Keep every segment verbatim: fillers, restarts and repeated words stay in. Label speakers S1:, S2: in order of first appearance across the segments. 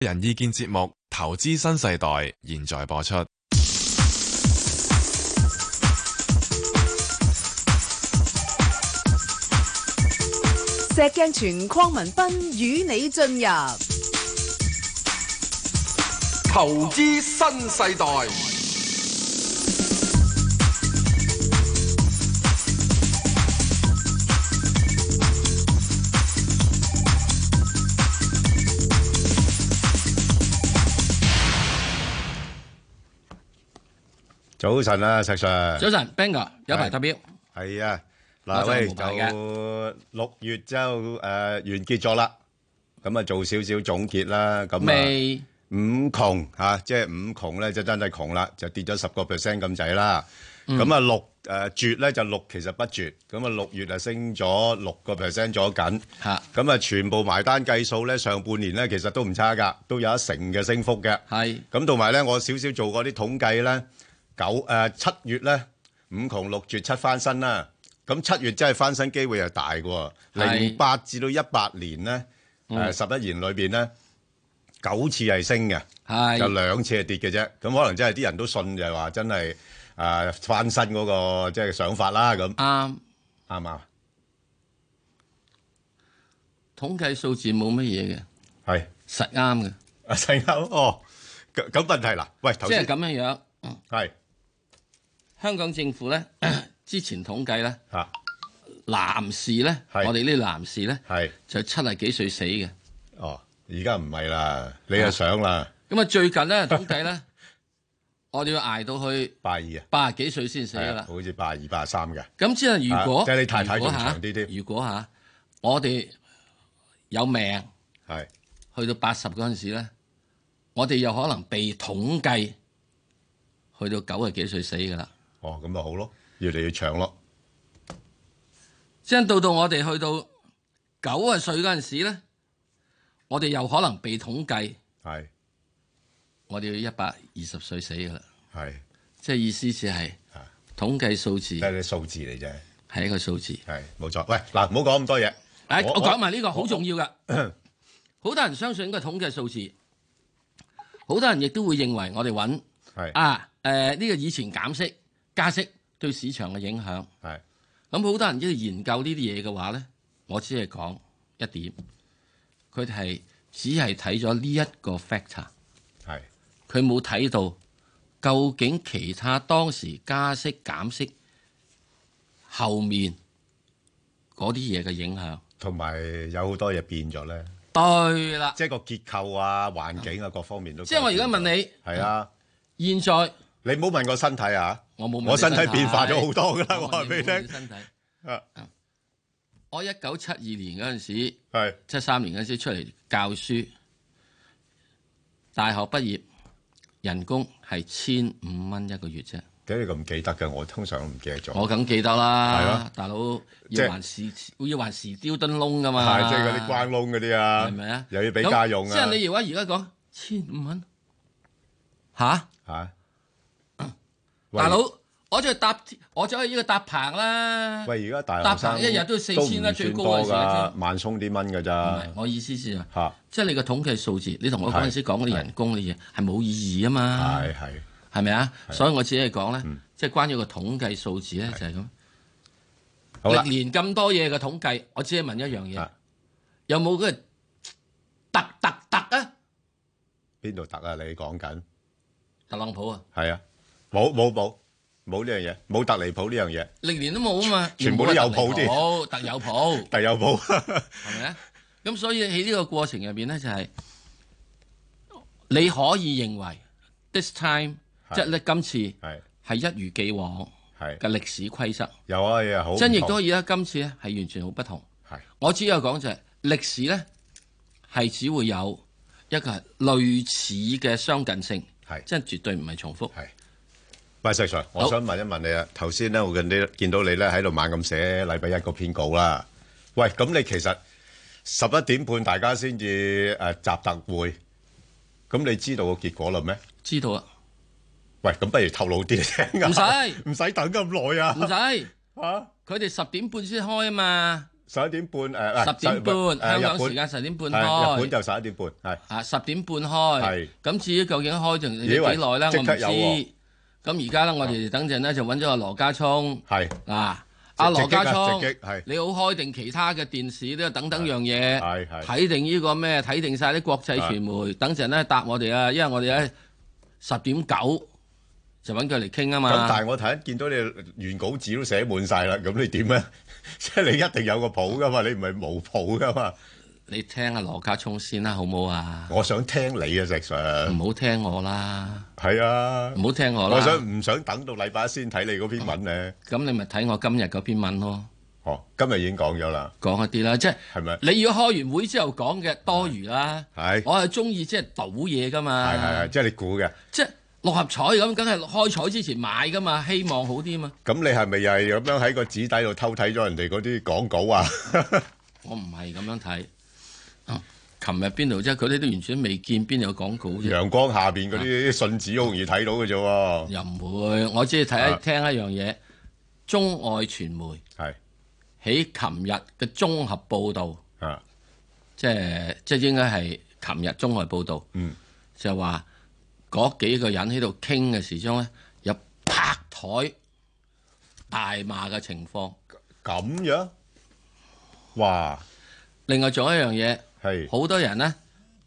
S1: 人意見節目《投資新世代》現在播出。
S2: 石鏡泉鄺民彬與你進入
S3: 投資新世代。
S4: 早晨啊，石 Sir。
S5: 早晨 ，Ben 哥有排投標。
S4: 係啊，嗱喂，就六月之後誒完結咗啦，咁啊做少少總結啦，咁啊五窮嚇，即係五窮咧就真係窮啦，就跌咗十個 percent 咁滯啦。咁啊六誒絕咧就六其實不絕，咁啊六月啊升咗六個 percent 咗緊，咁啊全部埋單計數咧，上半年咧其實都唔差㗎，都有一成嘅升幅嘅。係，咁同埋咧我少少做過啲統計咧。九誒七月咧五窮六絕七翻身啦，咁七月真係翻身機會係大嘅喎。零八至到一八年咧誒十一年裏邊咧九次係升嘅，就兩次係跌嘅啫。咁可能真係啲人都信就係話真係誒翻身嗰個即係想法啦。咁啱啱啊！
S5: 統計數字冇乜嘢嘅，
S4: 係
S5: 實啱嘅，
S4: 啊實啱哦。咁咁問題嗱，喂頭先
S5: 即係咁樣樣，
S4: 係。
S5: 香港政府咧，之前統計咧，男士咧，我哋呢啲男士咧，就七十幾歲死嘅。
S4: 哦，而家唔係啦，你又想啦。
S5: 咁啊，最近咧統計咧，我哋要捱到去
S4: 八二啊，
S5: 八十幾歲先死噶啦。
S4: 好似八二、八三嘅。
S5: 咁即係如果
S4: 即係你太太仲長啲添。
S5: 如果嚇我哋有命，
S4: 係
S5: 去到八十嗰陣時咧，我哋有可能被統計去到九十幾歲死噶啦。
S4: 哦，咁咪好咯，越嚟越長咯。
S5: 即係到到我哋去到九十歲嗰陣時咧，我哋又可能被統計，
S4: 係
S5: 我哋要一百二十歲死噶啦。
S4: 係，
S5: 即係意思就係統計數字，
S4: 係啲數字嚟啫，
S5: 係一個數字，
S4: 係冇錯。喂，嗱，唔好講咁多嘢。
S5: 誒，我講埋呢個好重要噶，好多人相信呢個統計數字，好多人亦都會認為我哋揾
S4: 係
S5: 啊誒呢個以前減息。加息對市場嘅影響
S4: 係
S5: 咁，好多人要研究呢啲嘢嘅話咧，我只係講一點，佢哋係只係睇咗呢一個 factor，
S4: 係
S5: 佢冇睇到究竟其他當時加息減息後面嗰啲嘢嘅影響，
S4: 同埋有好多嘢變咗咧。
S5: 對啦，
S4: 即係個結構啊、環境啊各方面都。
S5: 即係我而家問你，
S4: 係啊，
S5: 現在
S4: 你唔好問我身體啊。
S5: 我冇問
S4: 我身體變化咗好多噶啦，我話俾你聽。
S5: 身體
S4: 啊，
S5: 我一九七二年嗰陣時，
S4: 係
S5: 七三年嗰陣時出嚟教書，大學畢業人工係千五蚊一個月啫。
S4: 點解你咁記得嘅？我通常都唔記得咗。
S5: 我梗記得啦，
S4: 係咯，
S5: 大佬要還時要還時丟燈窿噶嘛。
S4: 係即係嗰啲關窿嗰啲啊，
S5: 係咪啊？
S4: 又要俾家用啊。
S5: 即係你而家而家講千五蚊，吓
S4: 吓？
S5: 大佬，我就搭，我就係呢個搭棚啦。
S4: 喂，而家大
S5: 搭棚一日都要四千啦，最高嘅時候
S4: 萬鬆啲蚊㗎咋？
S5: 唔係，我意思是
S4: 啊，
S5: 即係你個統計數字，你同我嗰陣時講嗰啲人工嗰啲嘢係冇意義啊嘛。
S4: 係係
S5: 係咪啊？所以我只係講咧，即係關於個統計數字咧，就係咁。歷年咁多嘢嘅統計，我只係問一樣嘢，有冇嗰個特特特啊？
S4: 邊度特啊？你講緊
S5: 特朗普啊？
S4: 係啊。冇冇冇冇呢樣嘢，冇特離譜呢樣嘢，
S5: 歷年都冇啊嘛，
S4: 全部都有譜啲，
S5: 好特有譜，
S4: 特有譜，
S5: 係咪啊？咁所以喺呢個過程入邊咧，就係你可以認為 this time 即係咧今次係一如既往嘅歷史規則，
S4: 有啊有好，
S5: 真亦都可以啦。今次咧係完全好不同，我只有講就係歷史咧係只會有一個係類似嘅相近性，係真係絕對唔係重複。
S4: 喂，石 Sir，我想問一問你啊。頭先咧，我見你見到你咧喺度猛咁寫禮拜一個編稿啦。喂，咁你其實十一點半大家先至誒集特會，咁你知道個結果啦咩？
S5: 知道啊。
S4: 喂，咁不如透露啲嚟聽啊。
S5: 唔使，
S4: 唔使等咁耐啊。
S5: 唔使嚇，佢哋十點半先開啊嘛。
S4: 十一點半誒，
S5: 十點半香港時間十點半開，
S4: 日本就十一點半係
S5: 啊十點半開。
S4: 係
S5: 咁至於究竟開仲幾耐咧？我唔知。咁而家咧，我哋等陣咧就揾咗阿羅家聰
S4: 係
S5: 嗱。阿羅家聰，
S4: 係
S5: 你好開定其他嘅電視都等等樣嘢，
S4: 係係
S5: 睇定呢個咩？睇定晒啲國際傳媒，等陣咧答我哋啊！因為我哋咧十點九就揾佢嚟傾啊嘛。
S4: 咁但係我睇見到你原稿紙都寫滿晒啦，咁你點咧？即係你一定有個譜噶嘛，你唔係冇譜噶嘛。
S5: 你聽下羅家聰先啦，好唔好啊？
S4: 我想聽你啊，石 Sir。
S5: 唔好聽我啦。
S4: 係啊，
S5: 唔好聽我啦。
S4: 我想唔想等到禮拜一先睇你嗰篇文咧？
S5: 咁你咪睇我今日嗰篇文咯。
S4: 哦，今日已經講咗啦。
S5: 講一啲啦，即係
S4: 係咪？
S5: 你如果開完會之後講嘅多餘啦。
S4: 係。
S5: 我係中意即係賭嘢噶嘛。
S4: 係係係，即係你估嘅。
S5: 即係六合彩咁，梗係開彩之前買噶嘛，希望好啲嘛。
S4: 咁你係咪又係咁樣喺個紙底度偷睇咗人哋嗰啲廣告啊？
S5: 我唔係咁樣睇。琴日邊度啫？佢哋都完全未見邊有廣告啫。
S4: 陽光下邊嗰啲信紙好容易睇到嘅啫喎。
S5: 又唔會，我只係睇一、啊、聽一樣嘢。中外傳媒
S4: 係
S5: 喺琴日嘅綜合報導，
S4: 啊，
S5: 即係即係應該係琴日綜合報導，
S4: 嗯，
S5: 就話嗰幾個人喺度傾嘅時鐘咧，有拍台大罵嘅情況。
S4: 咁樣，哇！
S5: 另外仲有一樣嘢。
S4: 係
S5: 好多人咧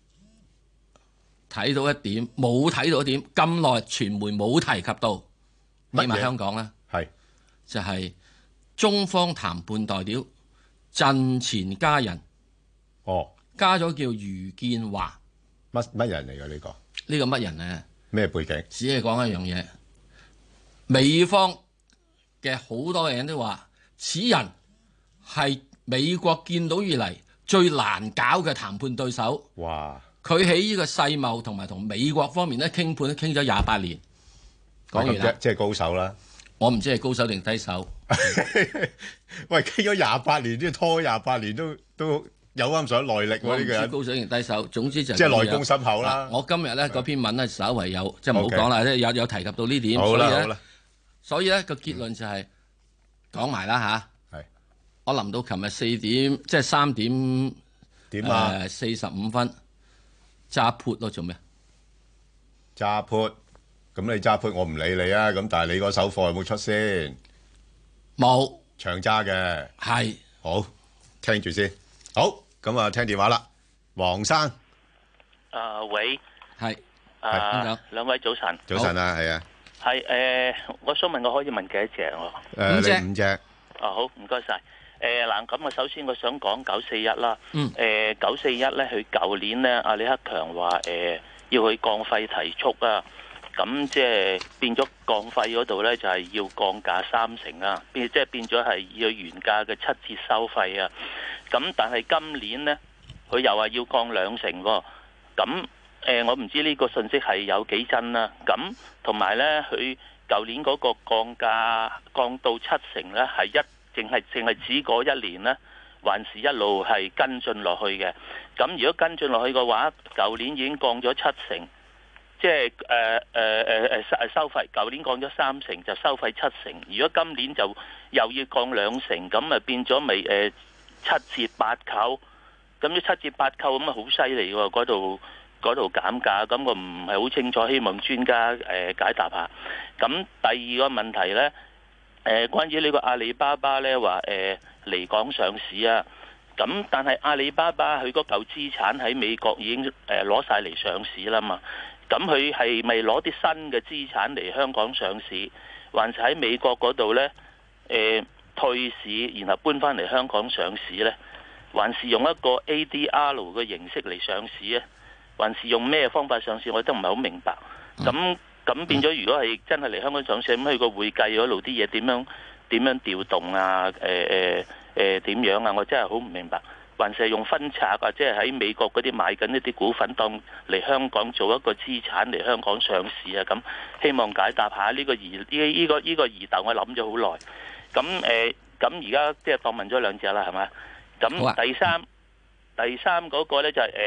S5: 睇到一點，冇睇到一點，咁耐傳媒冇提及到，起碼香港咧，
S4: 係
S5: 就係中方談判代表陣前加人，
S4: 哦，
S5: 加咗叫余建華，
S4: 乜乜人嚟㗎呢個？
S5: 呢個乜人咧？
S4: 咩背景？
S5: 只係講一樣嘢，美方嘅好多人都話，此人係美國見到以嚟最難搞嘅談判對手。
S4: 哇！
S5: 佢喺呢個世貿同埋同美國方面咧傾判都傾咗廿八年。講完啦，
S4: 即係高手啦。
S5: 我唔知係高手定低手。
S4: 喂，傾咗廿八年，即係拖廿八年都都有啱上耐力喎。呢個人
S5: 高手定低手，總之就
S4: 即係內功深厚啦。
S5: 我今日咧嗰篇文咧稍為有，即係唔好講啦，即係有有提及到呢點。
S4: 好啦好啦。
S5: 所以咧個結論就係講埋啦嚇。我臨到琴日四點，即係三點
S4: 點啊？
S5: 誒四十五分揸 put 咯，做咩？
S4: 揸 put，咁你揸 put，我唔理你啊。咁但係你個手貨有冇出先？
S5: 冇
S4: 長揸嘅。
S5: 係。
S4: 好，聽住先。好，咁啊聽電話啦，黃生。
S6: 啊喂。
S5: 係。
S6: 啊兩位早晨。
S4: 早晨啊，係啊。
S6: 係誒，我想問我可以問幾多隻喎？
S4: 誒，你五隻。
S6: 啊好，唔該晒。誒嗱，咁啊，首先我想講九四一啦。
S5: 嗯。
S6: 誒九四一咧，佢舊年咧，阿李克強話誒要去降費提速啊，咁即係變咗降費嗰度咧，就係要降價三成啊，變即係變咗係要原價嘅七折收費啊。咁但係今年咧，佢又話要降兩成喎。咁誒，我唔知呢個信息係有幾真啦。咁同埋咧，佢舊年嗰個降價降到七成咧，係一。淨係淨係指嗰一年呢，還是一路係跟進落去嘅。咁如果跟進落去嘅話，舊年已經降咗七成，即係誒誒誒誒收費。舊年降咗三成，就收費七成。如果今年就又要降兩成，咁啊變咗咪誒七折八扣。咁啲七折八扣咁啊好犀利喎！嗰度嗰度減價，咁我唔係好清楚，希望專家誒解答下。咁第二個問題呢。誒、呃，關於呢個阿里巴巴咧，話誒嚟港上市啊，咁但係阿里巴巴佢嗰嚿資產喺美國已經誒攞晒嚟上市啦嘛，咁佢係咪攞啲新嘅資產嚟香港上市，還是喺美國嗰度咧誒退市，然後搬翻嚟香港上市咧，還是用一個 A D R 嘅形式嚟上市咧，還是用咩方法上市，我都唔係好明白，咁。咁變咗，如果係真係嚟香港上市，咁佢個會計嗰度啲嘢點樣點樣調動啊？誒誒誒點樣啊？我真係好唔明白。還是係用分拆啊？即係喺美國嗰啲買緊一啲股份，當嚟香港做一個資產嚟香港上市啊？咁希望解答下呢個疑呢呢個呢個疑竇，我諗咗好耐。咁誒咁而家即係當問咗兩隻啦，係咪？咁第三、啊、第三嗰個咧就係誒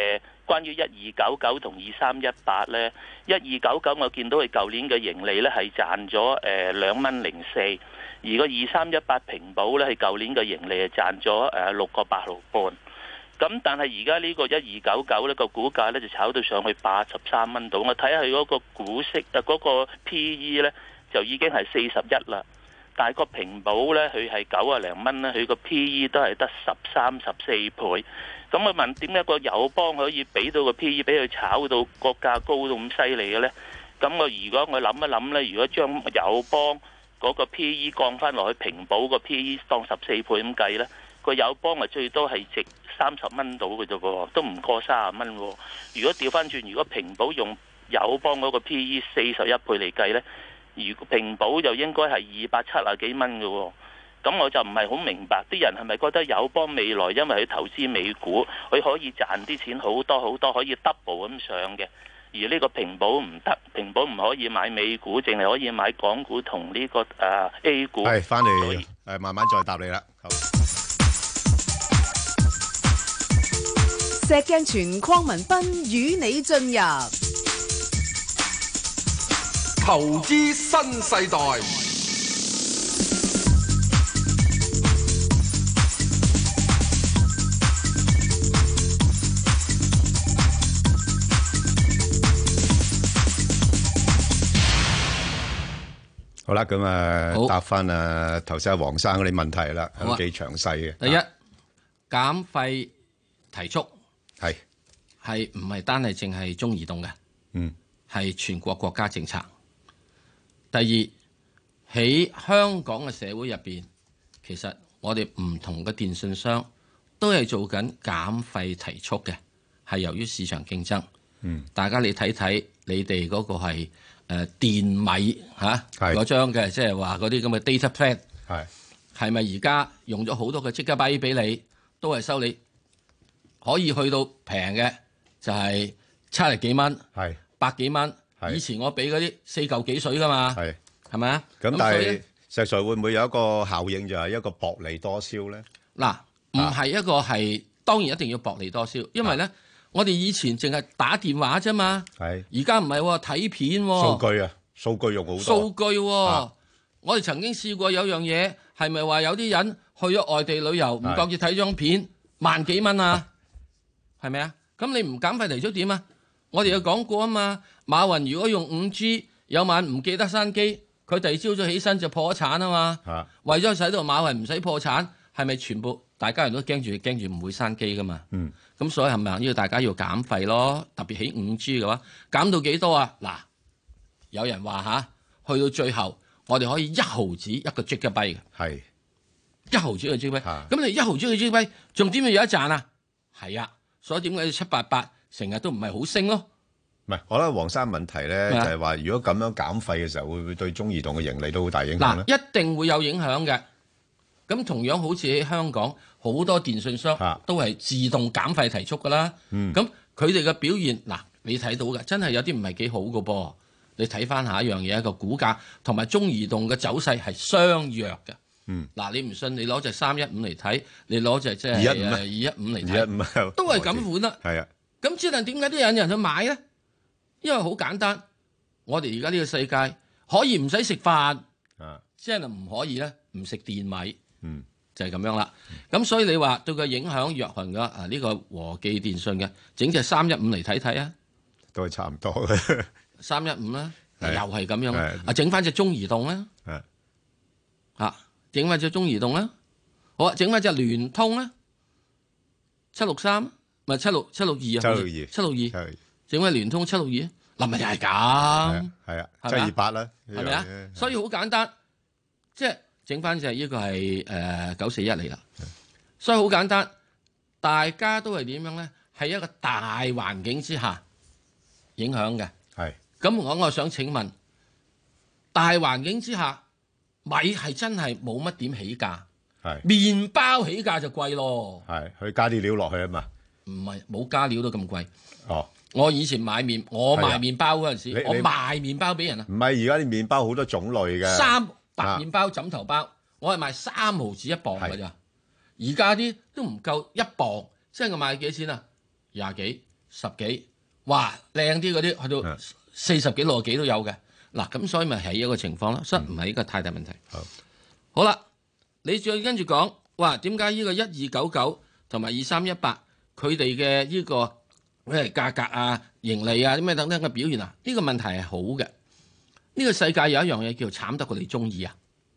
S6: 關於一二九九同二三一八呢，一二九九我見到佢舊年嘅盈利呢係賺咗誒兩蚊零四，而個二三一八平保呢，係舊年嘅盈利係賺咗誒六個八毫半。咁但係而家呢個一二九九呢個股價呢，就炒到上去八十三蚊度，我睇下佢嗰個股息啊嗰個 P E 呢，就已經係四十一啦。但係個平保呢，佢係九啊零蚊呢，佢個 P E 都係得十三十四倍。咁我問點解個友邦可以俾到個 P E 俾佢炒到個價高到咁犀利嘅呢？咁我如果我諗一諗呢，如果將友邦嗰個 P E 降翻落去平保個 P E 當十四倍咁計呢，個友邦啊最多係值三十蚊到嘅啫喎，都唔過三十蚊喎。如果調翻轉，如果平保用友邦嗰個 P E 四十一倍嚟計呢，如果平保就應該係二百七啊幾蚊嘅喎。咁我就唔係好明白，啲人係咪覺得友邦未來因為佢投資美股，佢可以賺啲錢好多好多，可以 double 咁上嘅？而呢個平保唔得，平保唔可以買美股，淨係可以買港股同呢、這個誒、呃、A 股。
S4: 係翻嚟誒，慢慢再答你啦。
S2: 石鏡泉鄺民彬與你進入
S3: 投資新世代。
S4: 好啦，咁啊，答翻啊頭先阿黃生嗰啲問題啦，都幾詳細嘅。
S5: 第一，減費提速
S4: 係
S5: 係唔係單係淨係中移動嘅？
S4: 嗯，
S5: 係全國國家政策。第二，喺香港嘅社會入邊，其實我哋唔同嘅電信商都係做緊減費提速嘅，係由於市場競爭。
S4: 嗯，
S5: 大家你睇睇，你哋嗰個係。誒、呃、電米嚇嗰張嘅，即係話嗰啲咁嘅 data plan
S4: 係
S5: 係咪而家用咗好多嘅即刻幣俾你，都係收你可以去到平嘅，就係七十幾蚊，
S4: 係
S5: 百幾蚊。以前我俾嗰啲四嚿幾水噶嘛，係係咪啊？
S4: 咁但係石 Sir 會唔會有一個效應，就係一個薄利多銷咧？
S5: 嗱，唔係一個係、啊、當然一定要薄利多銷，因為咧。啊我哋以前淨係打電話啫嘛，而家唔係喎，睇片喎、哦。
S4: 數據啊，數據用好多。
S5: 數據喎、哦
S4: 啊，
S5: 我哋曾經試過有樣嘢，係咪話有啲人去咗外地旅遊，唔覺意睇張片萬幾蚊啊？係咪啊？咁你唔減費提速點啊？我哋有講過啊嘛，馬雲如果用五 G， 有晚唔記得閂機，佢第二朝早起身就破咗產啊嘛。啊為咗使到馬雲唔使破產，係咪全部大家人都驚住驚住唔會閂機噶嘛？嗯。咁所以係咪要大家要減費咯？特別起五 G 嘅話，減到幾多啊？嗱，有人話吓，去到最後，我哋可以一毫子一個 G 嘅幣嘅，係一毫子一個 G 幣。咁你一毫子一個 G 幣，仲點會有一賺啊？係啊，所以點解七八八成日都唔係好升咯？
S4: 唔係，我覺得黃生問題咧就係話，如果咁樣減費嘅時候，會唔會對中移動嘅盈利都好大影響咧？
S5: 嗱，一定會有影響嘅。咁同樣好似喺香港好多電信商都係自動減費提速㗎啦。咁佢哋嘅表現嗱，你睇到嘅真係有啲唔係幾好㗎噃。你睇翻下一樣嘢，一個股價同埋中移動嘅走勢係相若嘅。嗱、嗯，你唔信你攞隻三一五嚟睇，你攞隻即係二一五嚟睇，都係咁款啦。係啊。咁之但點解都有人去買咧？因為好簡單，我哋而家呢個世界可以唔使食飯，即係唔可以咧唔食電米。嗯，就係、是、咁樣啦。咁、嗯、所以你話對佢影響若行嘅啊，呢、這個和記電信嘅整隻三一五嚟睇睇啊，
S4: 都係差唔多嘅。
S5: 三一五啦，又係咁樣啊，整翻隻中移動啦，啊，整翻隻中移動啦，好啊，整翻隻聯通啦，七六三咪七六七六二啊，七六二，七六二，整翻聯通七六二，嗱咪又係咁，係啊，七二八啦，係咪啊？所以好簡單，即係。整翻就係呢個係誒九四一嚟啦，所以好簡單，大家都係點樣咧？係一個大環境之下影響嘅。係咁，我我想請問，大環境之下，米係真係冇乜點起價，係麵包起價就貴咯。係佢加啲料落去啊嘛，唔係冇加料都咁貴。哦，我以前買麵，我賣麵包嗰陣時，我賣麵包俾人啊。唔係而家啲麵包好多種類嘅。三白麵包、枕頭包，我係賣三毫子一磅㗎咋，而家啲都唔夠一磅，即係我賣幾錢啊？廿幾、 十幾，哇靚啲嗰啲去到四十幾六十幾都有嘅。嗱咁所以咪係一個情況咯，所以唔係一個太大問題。
S4: 好，
S5: 好啦，你再跟住講，哇點解呢個一二九九同埋二三一八佢哋嘅呢個咩價格啊、盈利啊啲咩等等嘅表現啊？呢個問題係好嘅。呢個世界有一樣嘢叫慘得過你中意啊！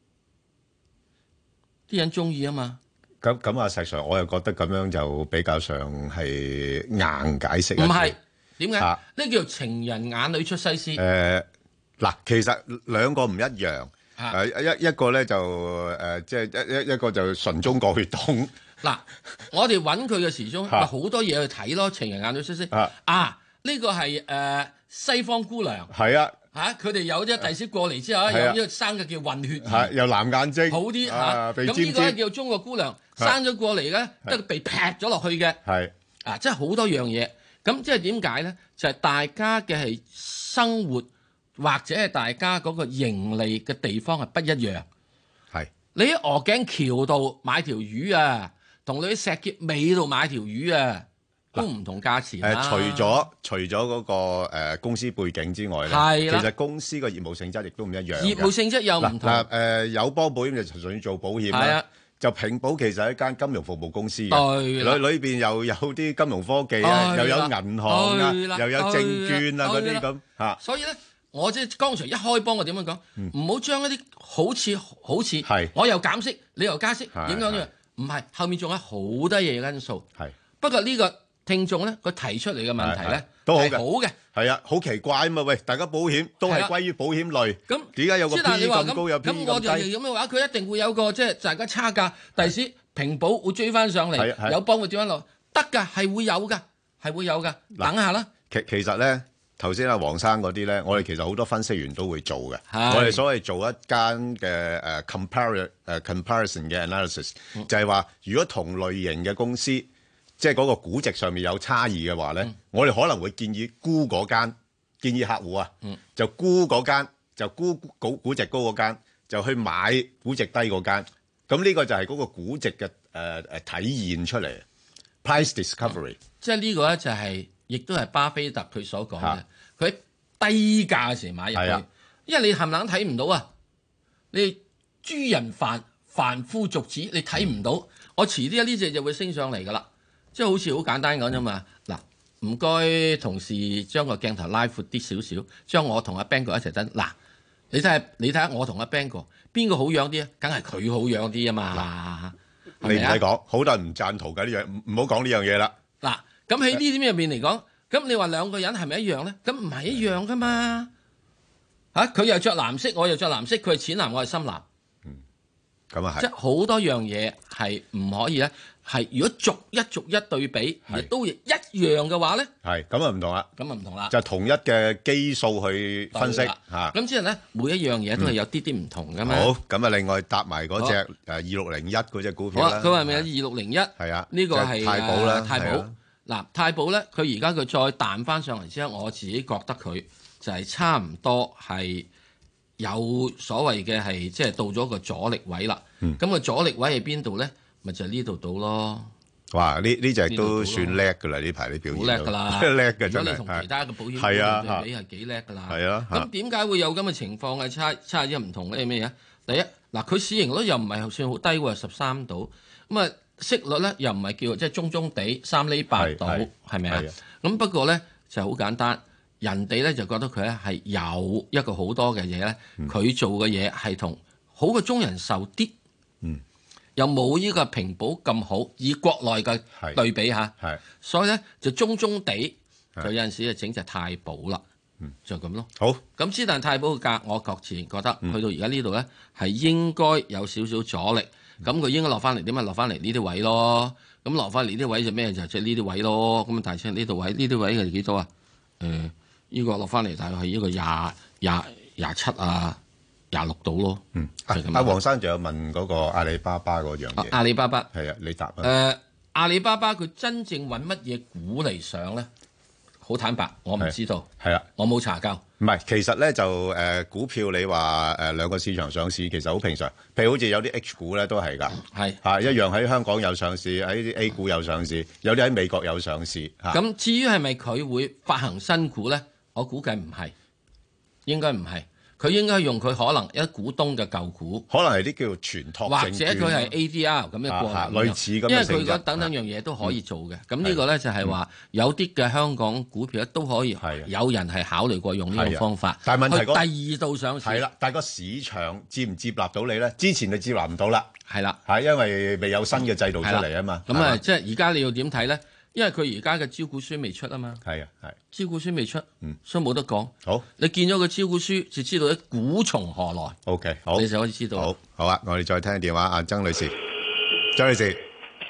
S5: 啲人中意啊嘛。
S4: 咁咁啊，石 Sir，我又覺得咁樣就比較上係硬解釋。
S5: 唔係點解？呢、啊、叫做情人眼裏出西施。誒、
S4: 呃、嗱，其實兩個唔一樣。誒、啊、一一個咧就誒即係一一一個就純中國血統。嗱，
S5: 我哋揾佢嘅時鐘咪好多嘢去睇咯。情人眼裏出西施啊！啊，呢、這個係誒、呃、西方姑娘。係啊。嚇！佢哋有啲第時過嚟之後，有呢個生嘅叫混血兒，
S4: 又藍眼睛，
S5: 好啲嚇。咁呢個咧叫中國姑娘，生咗過嚟咧，得被劈咗落去嘅。係啊，即係好多樣嘢。咁即係點解咧？就係大家嘅係生活或者係大家嗰個盈利嘅地方係不一樣。係你喺鵝頸橋度買條魚啊，同你喺石硤尾度買條魚啊，都唔同價錢啦。
S4: 誒，除咗除咗嗰個誒公司背景之外咧，其實公司個業務性質亦都唔一樣。業
S5: 務性質又唔同。
S4: 嗱誒，友邦保險就純粹做保險啦。就平保其實係一間金融服務公司嘅，裏裏邊又有啲金融科技啊，又有銀行啊，又有證券啊嗰啲咁嚇。
S5: 所以咧，我即係剛才一開波，我點樣講？唔好將一啲好似好似，我又減息，你又加息，影響咗。唔係，後面仲有好多嘢因素。係不過呢個聽眾咧，佢提出嚟嘅問題咧，
S4: 都好
S5: 嘅，好嘅。
S4: 係啊，好奇怪啊嘛！喂，大家保險都係歸於保險類，咁點解有個 P 咁高，有 P 咁低？咁我就係咁嘅話，佢一定會有個即係大家差價。第時平保會追翻上嚟，友邦會追翻落，得㗎，係會有㗎，係會有㗎。等下啦。其其實咧，頭先阿黃生嗰啲咧，我哋其實好多分析員都會做嘅。我哋所謂做一間嘅誒 compare 誒 comparison 嘅 analysis，就係話如果同類型嘅公司，即係嗰個估值上面有差異嘅話咧，嗯、我哋可能會建議沽嗰間，建議客戶啊，嗯、就沽嗰間，就沽估估值高嗰間，就去買估值低嗰間。咁呢個就係嗰個估值嘅誒誒體現出嚟 ，price discovery。
S5: 嗯、即係呢個咧就係、是，亦都係巴菲特佢所講嘅。佢喺低價嘅時買入去，啊、因為你冚唪唥睇唔到啊，你諸人凡凡夫俗子，你睇唔到。嗯、我遲啲呢隻就會升上嚟㗎啦。即係好似好簡單講啫嘛，嗱，唔該同事將個鏡頭拉闊啲少少，將我同阿 Bang 哥一齊等。嗱，你睇下，你睇下我同阿 Bang 哥邊個好樣啲啊？梗係佢好樣啲啊嘛。
S4: 你唔使講，好多人唔贊同㗎呢樣，唔唔好講呢樣嘢啦。
S5: 嗱，咁喺呢啲咩入面嚟講，咁你話兩個人係咪一樣咧？咁唔係一樣噶嘛。嚇，佢又着藍色，我又着藍色，佢係淺藍，我係深藍。
S4: 嗯，咁啊係。
S5: 即係好多樣嘢係唔可以咧。係，如果逐一逐一對比，亦都一樣嘅話咧，係咁啊唔同啦，咁啊唔同啦，
S4: 就同一嘅基數去分析嚇。
S5: 咁之後咧，每一樣嘢都係有啲啲唔同噶嘛。
S4: 好，咁啊另外搭埋嗰隻誒二六零一嗰隻股票啦。
S5: 佢話咪有二六零一？係啊，呢個係
S4: 太保啦，
S5: 太保。嗱，太保咧，佢而家佢再彈翻上嚟之後，我自己覺得佢就係差唔多係有所謂嘅係即係到咗個阻力位啦。咁個阻力位喺邊度咧？咪就係呢度到咯！
S4: 哇！呢呢隻都算叻㗎啦，呢排啲表現好叻㗎啦，叻㗎真係。如果你同其他嘅保險對比係幾叻㗎啦。係啊。咁點解會有咁嘅情況嘅差差異唔同咧？咩嘢？第一嗱，佢市盈率又唔係算好低喎，十三度。咁啊，息率咧又唔係叫即係中中地三厘八度，係咪啊？咁不過咧就好簡單，人哋咧就覺得佢咧係有一個好多嘅嘢咧，佢做嘅嘢係同好過中人壽啲。嗯。又冇呢個平保咁好，以國內嘅對比下，所以咧就中中地，就有陣時就整隻太保啦，就咁咯。好，咁之但太保嘅價，我確自然覺得、嗯、去到而家呢度咧係應該有少少阻力，咁佢、嗯、應該落翻嚟點啊？落翻嚟呢啲位咯，咁落翻嚟呢啲位就咩？就即係呢啲位咯。咁啊，大聲呢度位，呢啲位係幾多啊？誒、呃，呢、呢個落翻嚟大概係呢個廿廿廿七啊。廿六度咯，嗯， 阿黃生仲有問嗰個阿里巴巴嗰樣嘢，
S5: 阿里巴巴
S4: 係啊，你答啊。
S5: 誒，阿里巴巴佢真正揾乜嘢股嚟上咧？好好坦白，我唔知道。
S4: 係啊，
S5: 我冇查究。
S4: 唔係，其實咧就誒、呃、股票你話誒、呃、兩個市場上市其實好平常。譬如好似有啲 H 股咧都係㗎，
S5: 係
S4: 嚇、啊、一樣喺香港有上市，喺啲 A 股有上市，有啲喺美國有上市嚇。
S5: 咁、啊、至於係咪佢會發行新股咧？我估計唔係，應該唔係。佢應該用佢可能一股東嘅舊股，
S4: 可能係啲叫做全託證券，
S5: 或者佢係 A D R 咁嘅過程，
S4: 類似咁嘅性質。
S5: 因為佢嗰等等樣嘢都可以做嘅。咁呢個咧就係話有啲嘅香港股票都可以，有人係考慮過用呢種方法。
S4: 但係問題
S5: 去第二度上市
S4: 係啦，但係個市場接唔接納到你咧？之前就接納唔到啦，
S5: 係啦，
S4: 係因為未有新嘅制度出嚟啊嘛。
S5: 咁啊，即係而家你要點睇咧？因為佢而家嘅招股書未出啊嘛，
S4: 係啊係，
S5: 招股書未出，
S4: 嗯，
S5: 所以冇得講。
S4: 好，
S5: 你見咗個招股書就知道啲股從何來。
S4: OK， 好，
S5: 你就可以知道。
S4: 好，好啊，我哋再聽電話，阿曾女士，曾女士，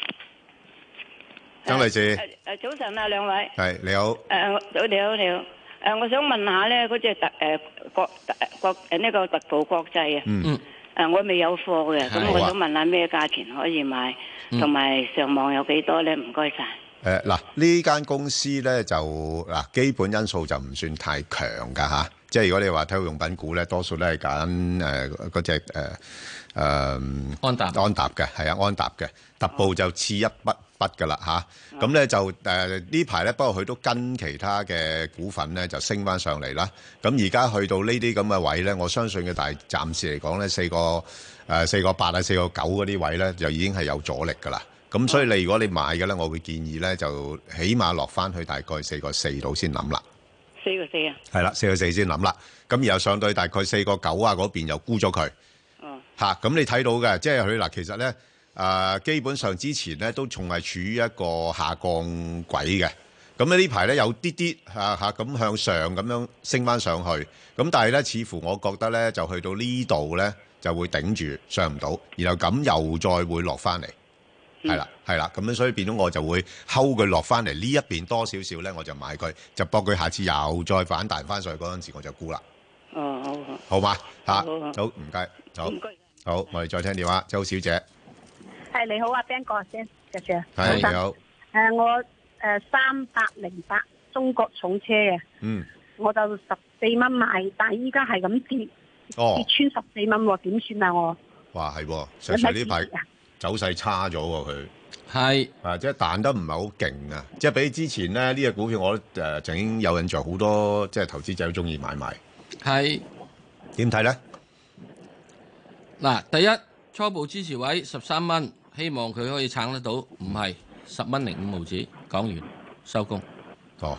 S4: 曾女士，
S7: 誒誒早晨啊，兩位。
S4: 係你好。
S7: 誒早你好你好。誒，我想問下咧，嗰隻特誒國國誒呢個特步國際啊。
S5: 嗯。
S7: 誒，我未有貨嘅，咁我想問下咩價錢可以買，同埋上網有幾多咧？唔該晒。
S4: 誒嗱，呢間公司咧就嗱基本因素就唔算太強㗎嚇，即係如果你話體育用品股咧，多數都係揀誒嗰隻誒誒
S5: 安踏
S4: 安踏嘅，係啊安踏嘅，特步就次一筆筆㗎啦嚇，咁咧就誒呢排咧，不過佢都跟其他嘅股份咧就升翻上嚟啦，咁而家去到呢啲咁嘅位咧，我相信嘅大暫時嚟講咧，四個誒四個八啊四個九嗰啲位咧，就已經係有阻力㗎啦。咁所以你如果你買嘅咧，我會建議咧就起碼落翻去大概四個四度先諗啦。
S7: 四個四啊？
S4: 係啦，四個四先諗啦。咁然後上到大概四個九啊嗰邊又沽咗佢。
S7: 哦。嚇！
S4: 咁你睇到嘅，即係佢嗱，其實咧誒、呃、基本上之前咧都仲係處於一個下降軌嘅。咁咧呢排咧有啲啲嚇嚇咁向上咁樣升翻上去。咁但係咧似乎我覺得咧就去到呢度咧就會頂住上唔到，然後咁又再會落翻嚟。係啦，係啦，咁樣所以變咗我就會睺佢落翻嚟呢一邊多少少咧，我就買佢，就搏佢下次又再反彈翻上去嗰陣時，我就沽啦。
S7: 哦，好好。
S4: 好嘛，嚇，
S7: 好
S4: 唔該，好。
S7: 唔該。
S4: 好，我哋再聽電話，周小姐。
S8: 係你好啊 ，Ben 哥先，謝謝。
S4: 係你好。
S8: 誒，我誒三百零八中國重車嘅。
S4: 嗯。
S8: 我就十四蚊買，但係依家係咁跌，跌穿十四蚊喎，點算啊我？
S4: 哇，係喎，上上呢排走勢差咗喎，佢
S5: 係
S4: 啊，即係彈得唔係好勁啊！即係比之前咧，呢隻股票我誒曾經有印象，好多即係投資者都中意買賣。係點睇咧？
S5: 嗱，第一初步支持位十三蚊，希望佢可以撐得到，唔係十蚊零五毫子，講完收工。
S4: 哦，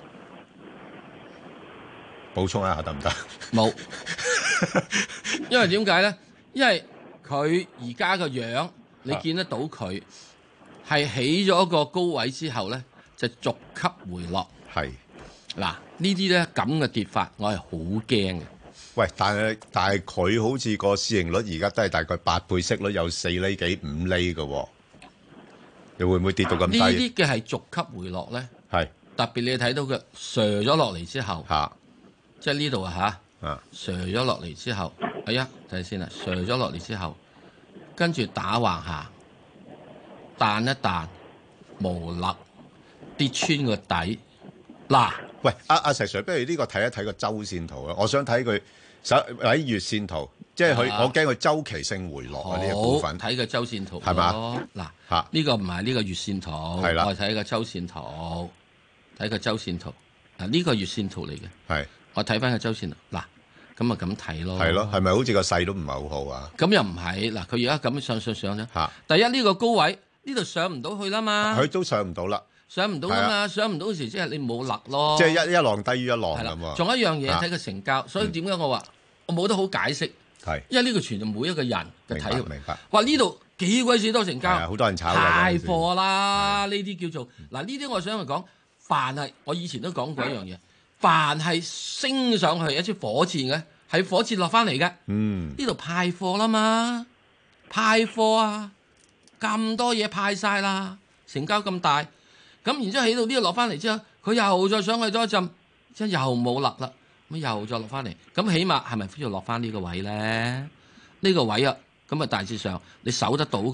S4: 補充一下得唔得？
S5: 冇，因為點解咧？因為佢而家個樣。你見得到佢係起咗個高位之後咧，就逐級回落。
S4: 係
S5: 嗱，呢啲咧咁嘅跌法，我係好驚嘅。
S4: 喂，但係但係佢好似個市盈率而家都係大概八倍息率，有四厘幾五厘嘅喎，你會唔會跌到咁低？呢
S5: 啲嘅係逐級回落咧。
S4: 係
S5: 特別你睇到佢瀉咗落嚟之後，
S4: 嚇，
S5: 即係呢度啊嚇，
S4: 啊
S5: 瀉咗落嚟之後，哎呀，睇下先啦，瀉咗落嚟之後。跟住打橫下，彈一彈，無力跌穿個底。嗱，
S4: 喂，阿、啊、阿石 Sir，不如呢個睇一睇個周線圖啊！我想睇佢手喺月線圖，即係佢，我驚佢周期性回落啊！呢個股份
S5: 睇個周線圖
S4: 係嘛？
S5: 嗱，
S4: 嚇
S5: 呢個唔係呢個月線圖，
S4: 係啦，
S5: 我係睇個周線圖，睇個周線圖。嗱，呢個月線圖嚟嘅，
S4: 係我
S5: 睇翻個周線圖。嗱。咁啊咁睇咯，
S4: 係咯，係咪好似個勢都唔係好好啊？
S5: 咁又唔係，嗱，佢而家咁上上上啫。嚇！第一呢個高位呢度上唔到去啦嘛，
S4: 佢都上唔到啦，
S5: 上唔到啦嘛，上唔到時即係你冇勒咯。
S4: 即係一一浪低於一浪咁喎。
S5: 仲有一樣嘢睇佢成交，所以點解我話我冇得好解釋？
S4: 係，因
S5: 為呢個全就每一個人嘅睇。
S4: 明白。
S5: 哇！呢度幾鬼死多成交，
S4: 好多人炒嘅。
S5: 太貨啦！呢啲叫做嗱，呢啲我想去講，凡係我以前都講過一樣嘢，凡係升上去一支火箭嘅。係火箭落翻嚟嘅，呢度派貨啦嘛，派貨啊，咁多嘢派晒啦，成交咁大，咁然之後起到呢度落翻嚟之後，佢又再上去多一陣，即係又冇落啦，咁又再落翻嚟，咁起碼係咪需要落翻呢個位咧？呢、呢個位啊，咁啊大致上你守得到嘅，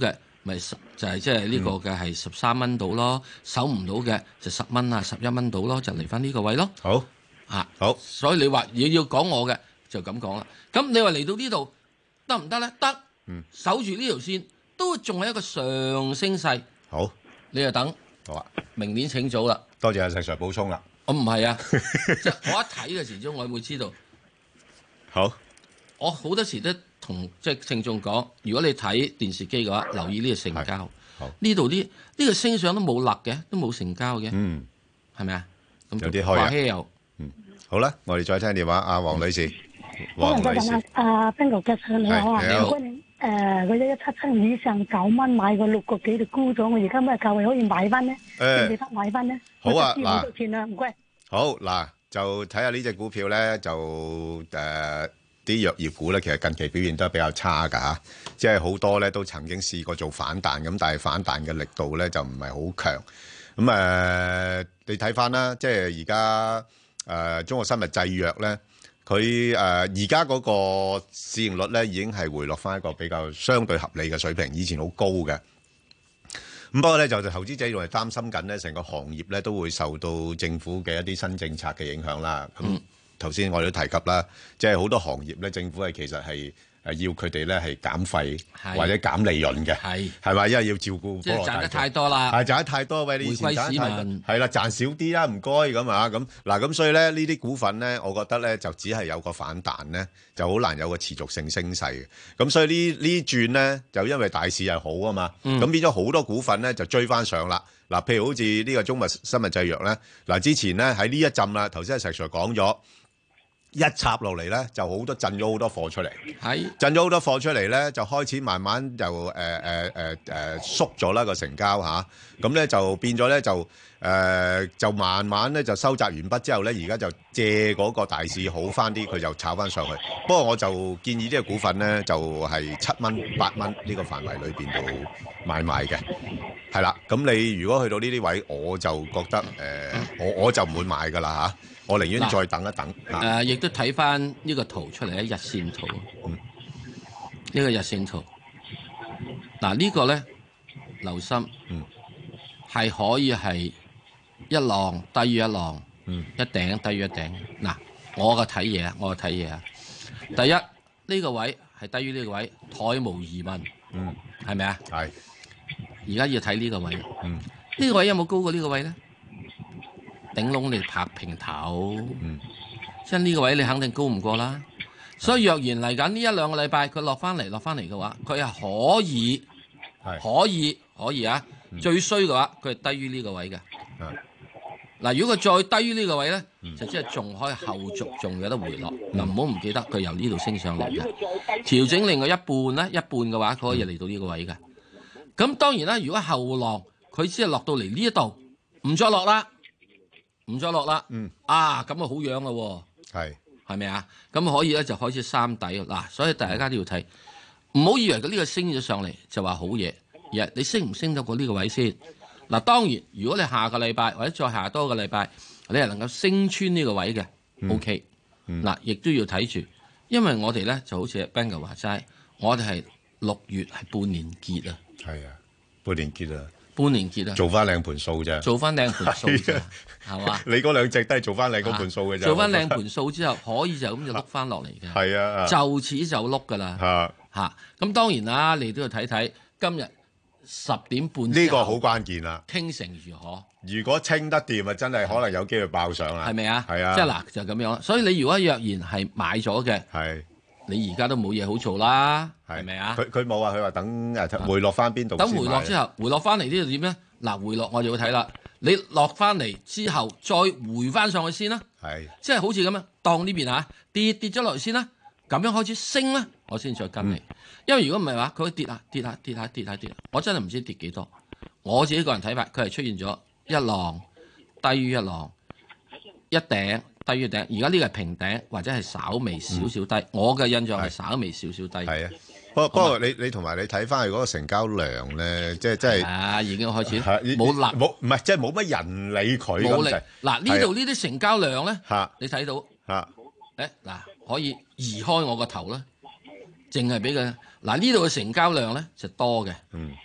S5: 咪就係即係呢個嘅係十三蚊到咯，守唔到嘅就十蚊啊，十一蚊到咯，就嚟翻呢個位咯。
S4: 好
S5: 啊，
S4: 好，
S5: 所以你話要要講我嘅就咁講啦。咁你話嚟到呢度得唔得咧？得，嗯，守住呢條線都仲係一個上升勢。
S4: 好，
S5: 你就等。
S4: 好啊，
S5: 明年請早啦。
S4: 多謝阿石 Sir 補充啦。
S5: 我唔係啊，即係我一睇嘅時鐘，我會知道。
S4: 好，
S5: 我好多時都同即係聽眾講，如果你睇電視機嘅話，留意呢個成交。呢度啲呢個升上都冇勒嘅，都冇成交嘅。嗯，係咪啊？咁
S4: 有啲開啊。
S5: 又
S4: 嗯，好啦，我哋再聽電話。阿黃女士，
S9: 黃女士，阿邊個嘅你好啊？你好。誒，我一一七七以上九蚊買過六個幾就沽咗，我而家咩價位可以買翻呢？誒，記得買翻呢？
S4: 好啊，嗱，
S9: 多錢啊？唔該。
S4: 好嗱，就睇下呢隻股票咧，就誒啲藥業股咧，其實近期表現都係比較差㗎嚇，即係好多咧都曾經試過做反彈咁，但係反彈嘅力度咧就唔係好強。咁誒、呃，你睇翻啦，即係而家誒中國生物製藥咧。佢誒而家嗰個市盈率咧已經係回落翻一個比較相對合理嘅水平，以前好高嘅。咁不過咧就投資者仲係擔心緊咧，成個行業咧都會受到政府嘅一啲新政策嘅影響啦。咁頭先我哋都提及啦，即係好多行業咧，政府係其實係誒要佢哋咧係減費或者減利潤嘅，係係咪？因為要照顧
S5: 即係賺得太多啦，
S4: 係賺得太多，喂，你以前賺得太多，係啦，賺少啲啦，唔該咁啊，咁嗱，咁所以咧呢啲股份咧，我覺得咧就只係有個反彈咧，就好難有個持續性升勢嘅。咁所以呢呢轉咧就因為大市係好啊嘛，咁、嗯、變咗好多股份咧就追翻上啦。嗱，譬如好似呢個中物生物製藥咧，嗱之前咧喺呢一陣啦，頭先阿石 Sir 講咗。一插落嚟咧，就好多震咗好多貨出嚟，係震咗好多貨出嚟咧，就開始慢慢就誒誒誒誒縮咗啦個成交嚇，咁、啊、咧就變咗咧就誒、呃、就慢慢咧就收窄完畢之後咧，而家就借嗰個大市好翻啲，佢就炒翻上去。不過我就建議呢個股份咧就係七蚊八蚊呢個範圍裏邊度買賣嘅，係啦。咁你如果去到呢啲位，我就覺得誒、呃、我我就唔會買噶啦嚇。我寧願再等一等。
S5: 誒、呃，亦都睇翻呢個圖出嚟咧，日線圖。嗯。呢、這個日線圖。嗱、這個，呢個咧，留心。嗯。係可以係一浪低於一浪。嗯。一頂低於一頂。嗱，我嘅睇嘢，我嘅睇嘢啊。第一，呢、這個位係低於呢個位，殆無疑問。嗯。係咪啊？係。而家要睇呢個位。嗯。呢、這個位有冇高過呢個位咧？頂籠你拍平頭，嗯，即係呢個位你肯定高唔過啦。所以若然嚟緊呢一兩個禮拜佢落翻嚟落翻嚟嘅話，佢係可以，係可以可以啊。嗯、最衰嘅話，佢係低於呢個位嘅。嗱，如果佢再低於呢個位咧、嗯，就即係仲可以後續仲有得回落。嗱、嗯，唔好唔記得佢由呢度升上嚟嘅，調整另外一半咧，一半嘅話佢可以嚟到呢個位嘅。咁、嗯、當然啦，如果後浪佢只係落到嚟呢一度，唔再落啦。唔再落啦，嗯啊，咁啊好樣咯喎，係係咪啊？咁可以咧就開始三底嗱，所以大家都要睇，唔好以為佢呢個升咗上嚟就話好嘢，而係你升唔升到過呢個位先嗱。當然，如果你下個禮拜或者再下多個禮拜，你係能夠升穿呢個位嘅、嗯、，OK，嗱、嗯，亦都要睇住，因為我哋咧就好似 Ben 哥話齋，我哋係六月係半年結啊，係啊，半年結啊。半年結啊，做翻靚盤數啫，做翻靚盤數啫，係嘛？你嗰兩隻都係做翻靚嗰盤數嘅啫。做翻靚盤數之後，可以就咁就碌翻落嚟嘅。係啊，就此就碌噶啦。嚇嚇，咁當然啦，你都要睇睇今日十點半。呢個好關鍵啦。傾成如何？如果清得掂啊，真係可能有機會爆上啦。係咪啊？係啊。即係嗱，就咁樣。所以你如果若然係買咗嘅，係。你而家都冇嘢好做啦，係咪啊？佢佢冇啊，佢話等誒回落翻邊度？等回落之後，回落翻嚟呢度點咧？嗱，回落我就要睇啦。你落翻嚟之後，再回翻上去先啦。係，即係好似咁樣，當呢邊嚇跌跌咗落去先啦，咁樣開始升啦，我先再跟你。嗯、因為如果唔係話，佢跌下跌下跌下跌下跌，我真係唔知跌幾多。我自己個人睇法，佢係出現咗一浪低於一浪，一頂。低於頂，而家呢個係平頂或者係稍微少少低。嗯、我嘅印象係稍微少少低。係啊，不過不過你你同埋你睇翻佢嗰個成交量咧，即係即係啊，已經開始冇立冇唔係即係冇乜人理佢咁滯。嗱呢度呢啲成交量咧，你睇到嚇誒嗱可以移開我個頭啦，淨係俾佢嗱呢度嘅成交量咧就多嘅。嗯，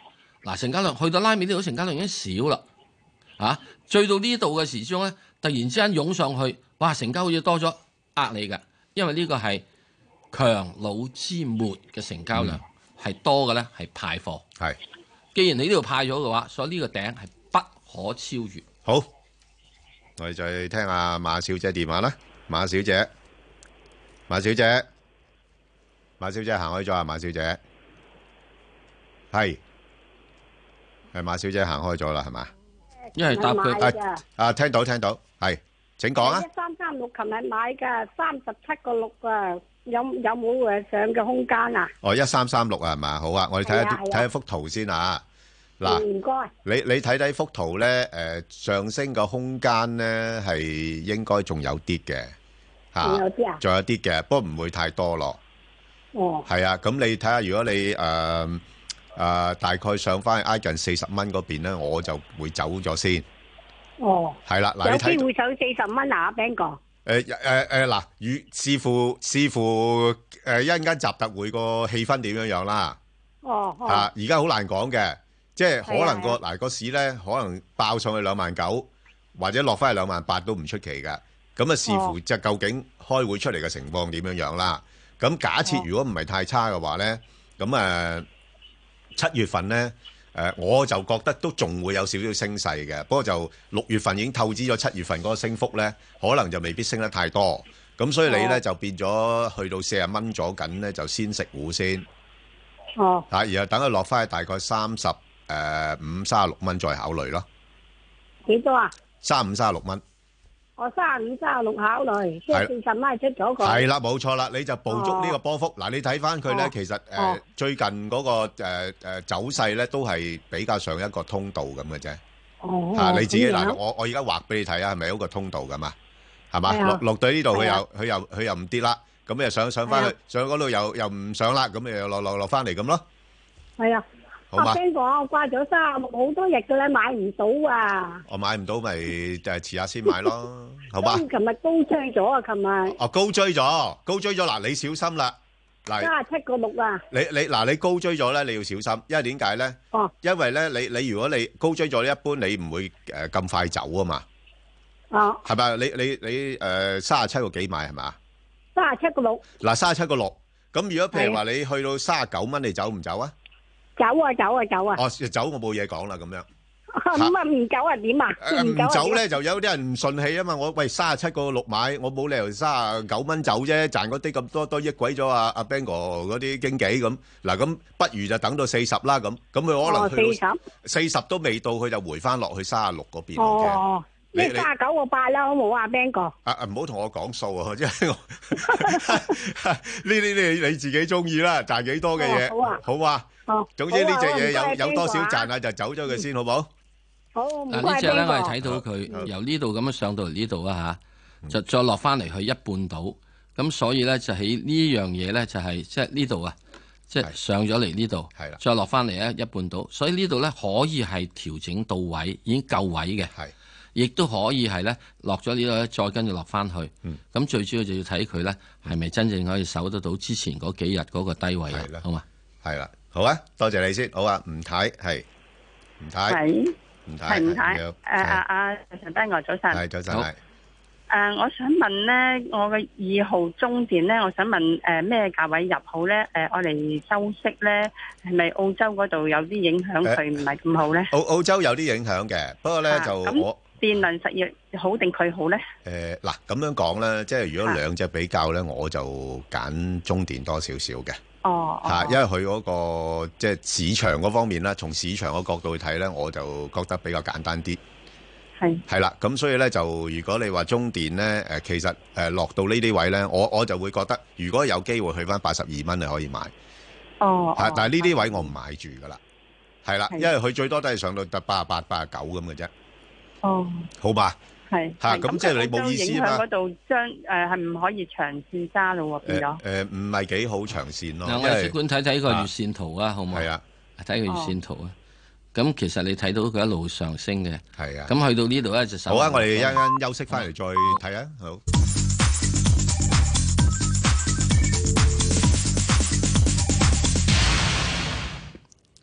S5: 嗱，成交量去到拉尾呢度，成交量已經少啦，啊，追到呢度嘅時鐘咧，突然之間湧上去，哇，成交好似多咗，呃你㗎，因為呢個係強弩之末嘅成交量係、嗯、多嘅咧，係派貨。
S4: 係，
S5: 既然你呢度派咗嘅話，所以呢個頂係不可超越。
S4: 好，我哋再聽下馬小姐電話啦，馬小姐，馬小姐，馬小姐行開咗啊，馬小姐。係，係馬小姐行開咗啦，係嘛？
S5: 因為答佢
S4: 啊，聽到聽到，係，請講啊。
S8: 一三三六，琴日買噶，三十七個六啊，有有冇誒上嘅空間啊？
S4: 哦，一三三六啊，係嘛？好啊，我哋睇下睇下幅圖先啊。嗱，唔該。你你睇睇幅圖咧，誒，上升嘅空間咧係應該仲有啲嘅，吓，仲有啲啊？仲有啲嘅，不過唔會太多咯。哦。係啊，咁你睇下，如果你誒。誒、呃，大概上翻挨近四十蚊嗰邊咧，我就會走咗先。哦，係啦，嗱，
S8: 有機會上四十蚊啊 ，Ben 哥。
S4: 誒誒誒，嗱，與視乎視乎誒一陣間集特會個氣氛點樣樣啦。哦。哦啊，而家好難講嘅，即係可能個嗱個市咧，可能爆上去兩萬九，或者落翻去兩萬八都唔出奇嘅。咁啊，視乎即係究竟開會出嚟嘅情況點樣樣啦。咁假設如果唔係太差嘅話咧，咁誒。呃七月份咧，誒、呃、我就覺得都仲會有少少升勢嘅，不過就六月份已經透支咗七月份嗰個升幅咧，可能就未必升得太多，咁所以你咧、哦、就變咗去到四十蚊咗緊咧，就先食糊先。哦。啊，然後等佢落翻去大概三十誒五、三十六蚊再考慮咯。
S8: 幾多啊？
S4: 三五、三十六蚊。
S8: 我三十五、三十六考慮，即係四十蚊出咗個。
S4: 係啦，冇錯啦，你就捕捉呢個波幅。嗱、哦，你睇翻佢咧，其實誒、呃哦、最近嗰、那個誒誒、呃、走勢咧，都係比較上一個通道咁嘅啫。哦。嚇、啊，你自己嗱，我我而家畫俾你睇啊，係咪有個通道㗎嘛？係嘛？落落到呢度，佢又佢又佢又唔跌啦，咁你又上上翻去，上嗰度又又唔上啦，咁你又落落落翻嚟咁咯。係啊。
S8: 阿 Ben 哥，我掛咗三十六好多日嘅咧，買唔到啊！
S4: 我買唔到，咪就係遲下先買咯，好吧？
S8: 琴日高追咗啊！琴日
S4: 哦，高追咗，高追咗嗱，你小心啦！嗱，
S8: 三十七個六啊！
S4: 你你嗱，你高追咗咧，你要小心，因為點解咧？哦，因為咧，你你如果你高追咗，一般你唔會誒咁快走啊嘛。哦，係咪？你你你誒三十七個幾買係嘛？
S8: 三十七個六。嗱，
S4: 三十七個六，咁如果譬如話你去到三十九蚊，你走唔走啊？
S8: 走啊走啊走啊！
S4: 哦，走我冇嘢講啦，咁樣。
S8: 咁啊唔走啊點啊？
S4: 唔走咧就有啲人唔順氣啊嘛！我喂三十七個六買，我冇理由三十九蚊走啫，賺嗰啲咁多都益鬼咗阿阿 Ben 哥嗰啲經紀咁。嗱咁不如就等到四十啦咁，咁佢可能去到四十都未到，佢就回翻落去三十六嗰邊。
S8: 哦，你三十九個八啦，好冇啊 Ben 哥？
S4: 啊啊唔好同我講數啊，即係我呢啲你你自己中意啦，賺幾多嘅嘢。好啊，好啊。哦，總之呢隻嘢有有多少賺啊，就走咗佢先，好冇？好，
S5: 嗱呢隻咧，我係睇到佢由呢度咁樣上到嚟呢度啊吓，就再落翻嚟去一半度，咁所以咧就喺呢樣嘢咧就係即係呢度啊，即係上咗嚟呢度，係啦，再落翻嚟咧一半度，所以呢度咧可以係調整到位，已經夠位嘅，係，亦都可以係咧落咗呢度咧，再跟住落翻去，咁最主要就要睇佢咧係咪真正可以守得到之前嗰幾日嗰個低位啊，好嘛？係啦。
S4: 好啊，多謝你先。好啊，吳太係吳太，
S10: 係
S4: 吳太，
S10: 係吳太。誒阿阿陳斌哥早晨，
S4: 係早晨。誒，
S10: 我想問咧，我嘅二號中電咧，我想問誒咩價位入好咧？誒，我嚟收息咧，係咪澳洲嗰度有啲影響佢唔係咁好咧？
S4: 澳澳洲有啲影響嘅，不過咧就我
S10: 電能實業好定佢好咧？
S4: 誒嗱，咁樣講咧，即係如果兩隻比較咧，我就揀中電多少少嘅。哦，嚇，因為佢嗰個即係市場嗰方面啦，從市場個角度去睇咧，我就覺得比較簡單啲。係係啦，咁所以咧就如果你話中電咧，誒其實誒落到呢啲位咧，我我就會覺得如果有機會去翻八十二蚊，你可以買。哦，係，但係呢啲位我唔買住噶啦，係啦，因為佢最多都係上到得八十八、八十九咁嘅啫。哦，好吧。係嚇，咁即係你冇意思嘛？
S10: 嗰度將誒係唔可以長線揸咯喎，變咗
S4: 誒唔係幾好長線咯。
S5: 嗱，我哋即管睇睇個月線圖啊，好唔好？係啊，睇個月線圖啊。咁其實你睇到佢一路上升嘅，係啊。咁去到呢度咧就手。好啊，
S4: 我哋一陣休息翻嚟再睇啊。好。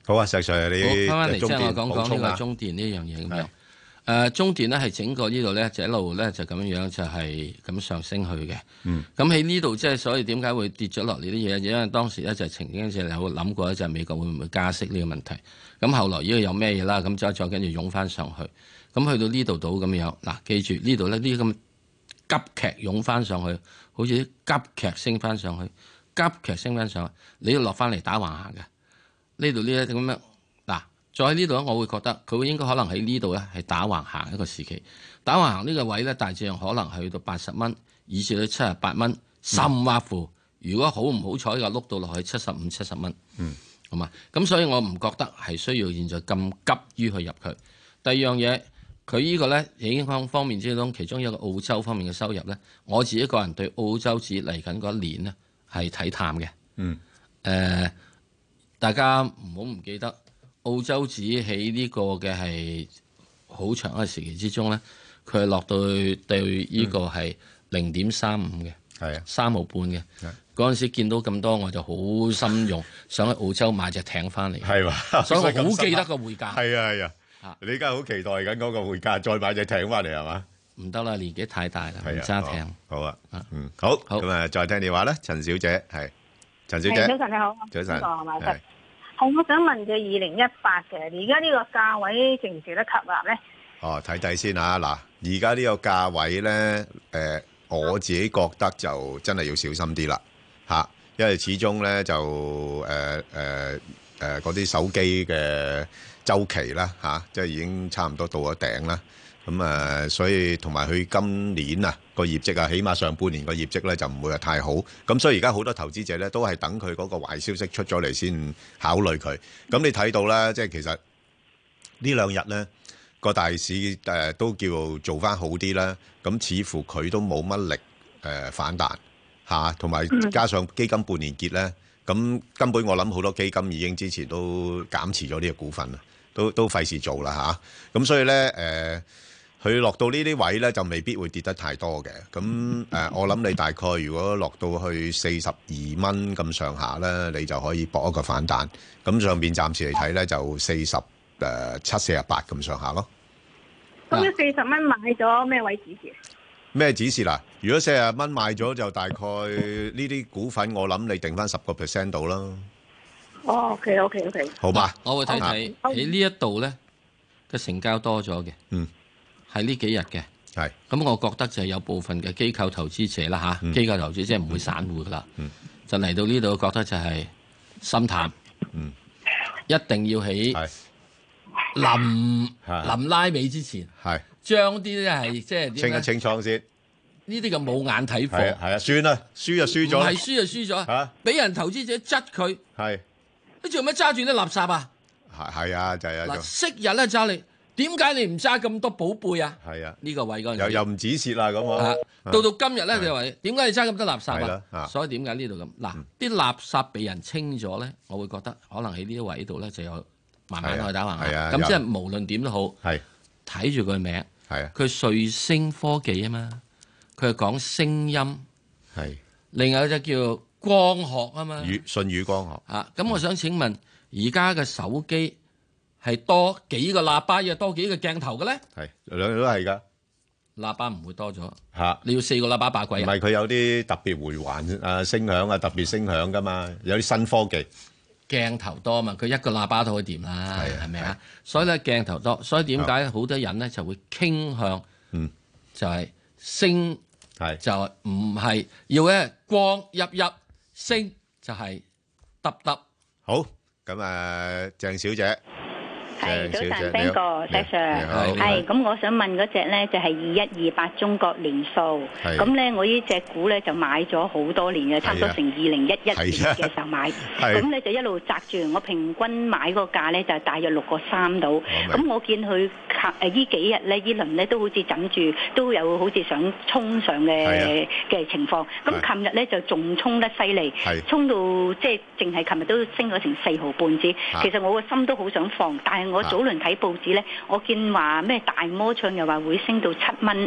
S4: 好啊，石 Sir，你
S5: 翻返嚟即係我
S4: 中電
S5: 講講呢
S4: 補充啊
S5: 個中電呢樣嘢咁樣。誒中電咧係整個呢度咧就一路咧就咁樣樣就係咁上升去嘅。
S4: 嗯。
S5: 咁喺呢度即係所以點解會跌咗落嚟啲嘢？因為當時咧就曾經就有諗過咧，就係美國會唔會加息呢個問題。咁後來呢個有咩嘢啦？咁再再跟住湧翻上去。咁去到呢度到咁樣，嗱記住呢度咧呢啲咁急劇湧翻上去，好似啲急劇升翻上去，急劇升翻上去，你要落翻嚟打橫行嘅。呢度呢一咁樣。再喺呢度咧，我會覺得佢會應該可能喺呢度咧係打橫行一個時期，打橫行呢個位咧大致上可能係去到八十蚊，以至到七十八蚊，甚或乎如果好唔好彩嘅碌到落去七十五、七十蚊，
S4: 嗯，
S5: 好嘛？咁所以我唔覺得係需要現在咁急於去入佢。第二樣嘢，佢呢個咧影響方面之中，其中一個澳洲方面嘅收入咧，我自己個人對澳洲紙嚟緊嗰一年呢係睇淡嘅。
S4: 嗯，
S5: 誒、呃，大家唔好唔記得。澳洲紙喺呢個嘅係好長嘅時期之中咧，佢係落到去對呢個係零點三五嘅，
S4: 係啊，
S5: 三毫半嘅。嗰陣時見到咁多，我就好心用，想喺澳洲買隻艇翻嚟。
S4: 係嘛，
S5: 所以我好記得個匯價。
S4: 係啊係啊，你而家好期待緊嗰個匯價，再買隻艇翻嚟係嘛？
S5: 唔得啦，年紀太大啦，唔揸艇。
S4: 好啊，嗯，好，咁啊，再聽電話啦，陳小姐係，陳小姐，
S11: 早晨你好，
S4: 早晨，
S11: 係。好，我想問佢二零一八嘅，而家呢個價位值唔值得吸納咧？
S4: 哦，睇睇先啊！嗱，而家呢個價位咧，誒、呃，我自己覺得就真係要小心啲啦，嚇、啊，因為始終咧就誒誒誒嗰啲手機嘅週期啦，嚇、啊，即係已經差唔多到咗頂啦。咁啊，所以同埋佢今年啊個業績啊，起碼上半年個業績咧就唔會話太好。咁所以而家好多投資者咧都係等佢嗰個壞消息出咗嚟先考慮佢。咁你睇到啦，即係其實呢兩日咧個大市誒都叫做翻好啲啦。咁似乎佢都冇乜力誒反彈嚇，同埋加上基金半年結咧，咁根本我諗好多基金已經之前都減持咗呢個股份啦，都都費事做啦嚇。咁所以咧誒。佢落到呢啲位咧，就未必會跌得太多嘅。咁誒、呃，我諗你大概如果落到去四十二蚊咁上下咧，你就可以搏一個反彈。咁上邊暫時嚟睇咧，就四十誒七、四十八咁上下咯。
S11: 咁你四十蚊買咗咩位指示？
S4: 咩指示啦？如果四十蚊買咗，就大概呢啲股份，我諗你定翻十個 percent 到啦。
S11: 哦 ，OK，OK，OK。
S4: 好吧，
S5: 我會睇睇喺呢一度咧嘅成交多咗嘅。
S4: 嗯。
S5: 係呢幾日嘅，
S4: 係咁，
S5: 我覺得就係有部分嘅機構投資者啦嚇，機構投資者唔會散戶噶啦，就嚟到呢度覺得就係心淡，
S4: 嗯，
S5: 一定要喺臨臨拉尾之前，
S4: 係
S5: 將啲咧係即係
S4: 清一清倉先，
S5: 呢啲嘅冇眼睇貨，
S4: 係啊係啊，算啦，輸就輸咗，
S5: 唔係輸就輸咗嚇，俾人投資者質佢，
S4: 係
S5: 你做咩揸住啲垃圾啊？
S4: 係係啊，就係啊，
S5: 嗱，昔日咧揸你。點解你唔揸咁多寶貝啊？
S4: 係啊，
S5: 呢個位嗰陣
S4: 又又唔止蝕啦咁啊！
S5: 到到今日咧，就話點解你揸咁多垃圾
S4: 啊？
S5: 所以點解呢度咁嗱？啲垃圾被人清咗咧，我會覺得可能喺呢啲位度咧就有慢慢去打橫行。咁即係無論點都好，睇住佢名，佢瑞聲科技啊嘛，佢係講聲音，
S4: 係
S5: 另外一隻叫光學啊嘛，
S4: 信宇光學
S5: 啊。咁我想請問，而家嘅手機係多幾個喇叭，又多幾個鏡頭嘅咧？
S4: 係兩樣都係㗎。
S5: 喇叭唔會多咗
S4: 嚇，
S5: 你要四個喇叭把鬼啊？
S4: 唔係佢有啲特別回環啊聲響啊，特別聲響㗎嘛，有啲新科技。
S5: 鏡頭多嘛，佢一個喇叭都可以掂啦，係咪啊？所以咧鏡頭多，所以點解好多人咧就會傾向，
S4: 嗯，
S5: 就係聲，
S4: 係
S5: 就唔係要咧光熠熠，聲就係揼揼。
S4: 好，咁啊，鄭小姐。
S7: 係早晨 ，Ben 哥，石 Sir，係咁，我想問嗰隻咧就係二一二八中國聯塑，咁咧我呢隻股咧就買咗好多年嘅，差唔多成二零一一年嘅時候買，咁咧就一路擲住，我平均買個價咧就係大約六個三度，咁我見佢誒呢幾日咧呢輪咧都好似枕住，都有好似想衝上嘅嘅情況，咁琴日咧就仲衝得犀利，衝到即係淨係琴日都升咗成四毫半子，其實我個心都好想放，但係我早輪睇報紙咧，我見話咩大摩唱又話會升到七蚊，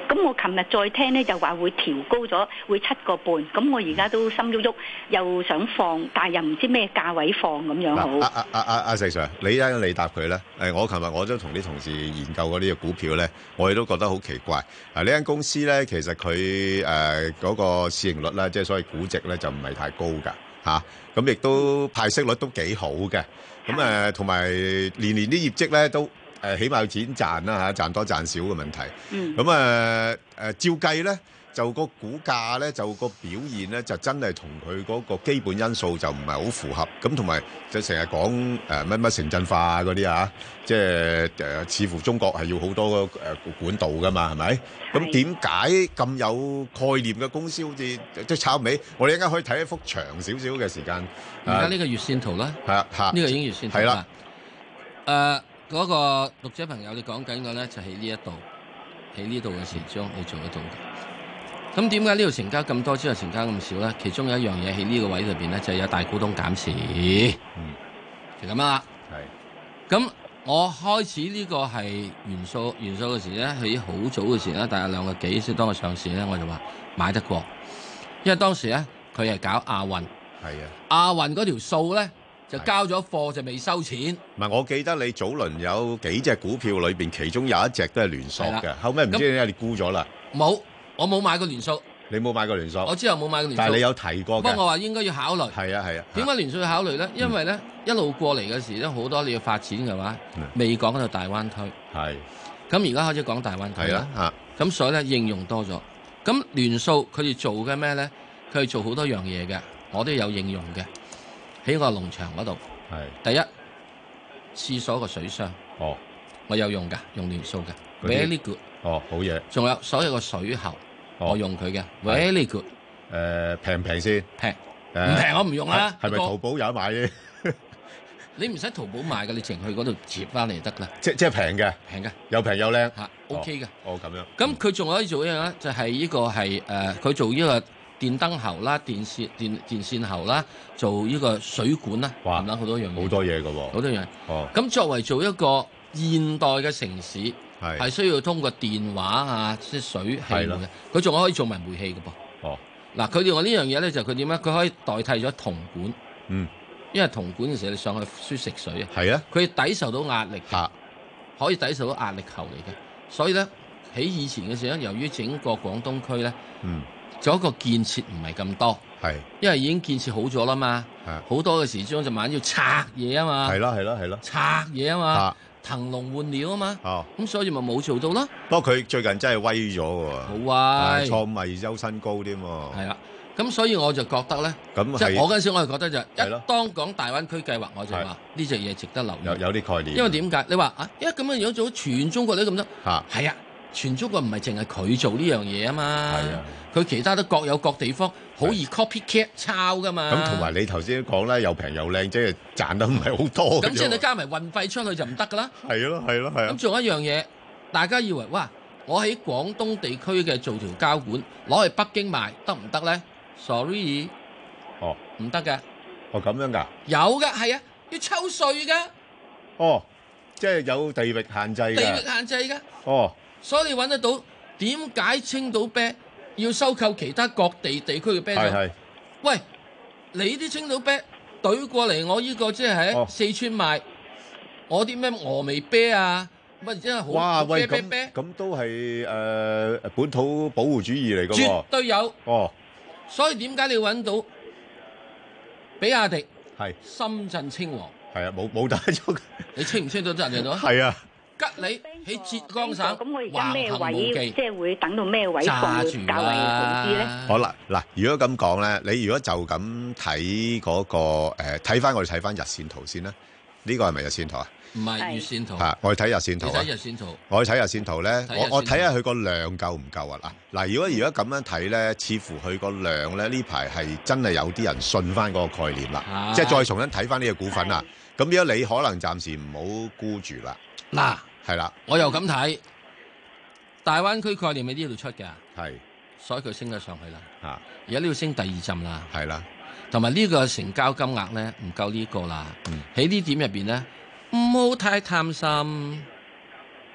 S7: 咁我琴日再聽咧就話會調高咗，會七個半。咁我而家都心喐喐，又想放，但係又唔知咩價位放咁樣好。
S4: 阿阿阿阿阿石 Sir，你而家你答佢咧？誒，我琴日我都同啲同事研究過呢個股票咧，我哋都覺得好奇怪。嗱，呢間公司咧，其實佢誒嗰個市盈率咧，即係所謂估值咧，就唔係太高㗎嚇。咁亦都派息率都幾好嘅。咁誒，同埋年年啲業績咧都誒，起碼有錢賺啦嚇，賺多賺少嘅問題。嗯。咁誒誒，照計咧，就個股價咧，就個表現咧，就真係同佢嗰個基本因素就唔係好符合。咁同埋就成日講誒乜乜城鎮化嗰啲啊，即係誒，似乎中國係要好多誒管道噶嘛，係咪？咁點解咁有概念嘅公司好似即係炒尾？我哋一陣間可以睇一幅長少少嘅時間。
S5: 而家呢個月線圖啦，
S4: 係啊，呢
S5: 個已經月線圖啦。誒，嗰個讀者朋友，你講緊嘅咧就喺呢一度，喺呢度嘅時鐘你做得到嘅。咁點解呢度成交咁多之後成交咁少咧？其中有一樣嘢喺呢個位裏邊咧，就係有大股東減持，嗯，就咁啦。係。咁我開始呢個係元素元素嘅時咧，喺好早嘅時咧，大概兩個幾先當佢上市咧，我就話買得過，因為當時咧佢係搞亞運。係啊，亞運嗰條數咧就交咗貨就未收錢。
S4: 唔係，我記得你早輪有幾隻股票裏邊，其中有一隻都係聯塑嘅，後尾唔知點解你沽咗啦。
S5: 冇，我冇買過聯塑。
S4: 你冇買過聯塑？
S5: 我之後冇買過聯塑。
S4: 但係你有提過嘅。
S5: 不過我話應該要考慮。
S4: 係啊係啊。
S5: 點解聯塑要考慮咧？因為咧一路過嚟嘅時咧，好多你要發展嘅話，未講到大灣區。係。咁而家開始講大灣區啦。係啊。咁所以咧應用多咗。咁聯塑佢哋做嘅咩咧？佢哋做好多樣嘢嘅。我都有應用嘅，喺個農場嗰度。係第一廁所個水箱。哦，我有用㗎，用聯塑嘅 ，very good。
S4: 哦，好嘢。仲
S5: 有所有個水喉，哦、我用佢嘅 very good。
S4: 誒平唔平先？
S5: 平，唔平我唔用啦。
S4: 係咪淘寶有得買啫？
S5: 你唔使淘寶買嘅，你淨去嗰度接翻嚟得啦。
S4: 即即係平嘅，
S5: 平嘅，
S4: 又平又靚。
S5: 嚇 ，OK 嘅。
S4: 哦，咁樣。
S5: 咁佢仲可以做一樣咧，就係呢個係誒，佢做呢個。電燈喉啦，電線電電線喉啦，做呢個水管啦，等等好多樣嘢，
S4: 好多嘢㗎喎，
S5: 好多樣。
S4: 哦，
S5: 咁作為做一個現代嘅城市，
S4: 係
S5: 係需要通過電話啊，即係水器嘅。佢仲可以做埋煤氣嘅噃。哦，嗱，佢哋話呢樣嘢咧，就佢點咧？佢可以代替咗銅管。嗯，因為銅管嘅時候你上去輸食水啊。係啊，佢抵受到壓力嘅，可以抵受到壓力球嚟嘅。所以咧，喺以前嘅時候，由於整個廣東區咧，嗯。做一個建設唔係咁多，係，因為已經建設好咗啦嘛，好多嘅時鐘就晚要拆嘢啊嘛，
S4: 係咯係咯係咯，
S5: 拆嘢啊嘛，騰籠換鳥啊嘛，哦，咁所以咪冇做到咯。
S4: 不過佢最近真係威咗喎，
S5: 好威，
S4: 創維優新高添喎，
S5: 係啦，咁所以我就覺得咧，咁即係我嗰陣時我就覺得就一當講大灣區計劃，我就話呢隻嘢值得留意，
S4: 有有啲概念，
S5: 因為點解？你話啊，因為咁樣樣做全中國都咁多，嚇，係啊。全中國唔係淨係佢做呢樣嘢啊嘛，佢其他都各有各地方好易 copycat 抄噶嘛。
S4: 咁同埋你頭先講咧，又平又靚，即係賺得唔係好多。
S5: 咁即係你加埋運費出去就唔得噶啦。
S4: 係咯係咯係啊。咁
S5: 仲有一樣嘢，大家以為哇，我喺廣東地區嘅做條膠管攞去北京賣得唔得咧 ？Sorry，
S4: 哦，
S5: 唔得嘅。
S4: 哦咁樣㗎？
S5: 有㗎，係啊，要抽稅㗎。
S4: 哦，即係有地域限制㗎。
S5: 地域限制㗎。
S4: 哦。所
S5: 以你揾得到點解青島啤要收購其他各地地區嘅啤酒？係係。喂，你啲青島啤懟過嚟，我呢個即係喺四川賣，我啲咩峨眉啤啊，乜真係好。
S4: 哇喂，
S5: 啤
S4: 咁咁都係誒本土保護主義嚟㗎喎。
S5: 絕對有。
S4: 哦。所
S5: 以點解你揾到比亞迪？
S4: 係。
S5: 深圳稱王。
S4: 係啊，冇冇打咗。
S5: 你清唔清到得人哋到？
S4: 係啊。
S5: 吉利喺浙江省，
S7: 咁我而家咩位，即係會等到咩位
S5: 放會較為好啲咧？
S4: 好啦，嗱，如果咁講咧，你如果就咁睇嗰個誒，睇翻我哋睇翻日線圖先啦。呢個係咪日線圖啊？
S5: 唔係月線圖。
S4: 嚇，我哋睇日線圖啊。
S5: 睇日線圖。
S4: 我哋睇日線圖咧，我我睇下佢個量夠唔夠啊？嗱嗱，如果如果咁樣睇咧，似乎佢個量咧呢排係真係有啲人信翻嗰個概念啦，即係再重新睇翻呢個股份啦。咁如果你可能暫時唔好沽住啦。
S5: 嗱，
S4: 係啦，
S5: 我又咁睇，大灣區概念喺呢度出嘅，
S4: 係，
S5: 所以佢升咗上去啦。
S4: 嚇，
S5: 而家呢度升第二浸啦，
S4: 係啦，
S5: 同埋呢個成交金額咧唔夠呢個啦。喺呢點入邊咧，唔好太貪心。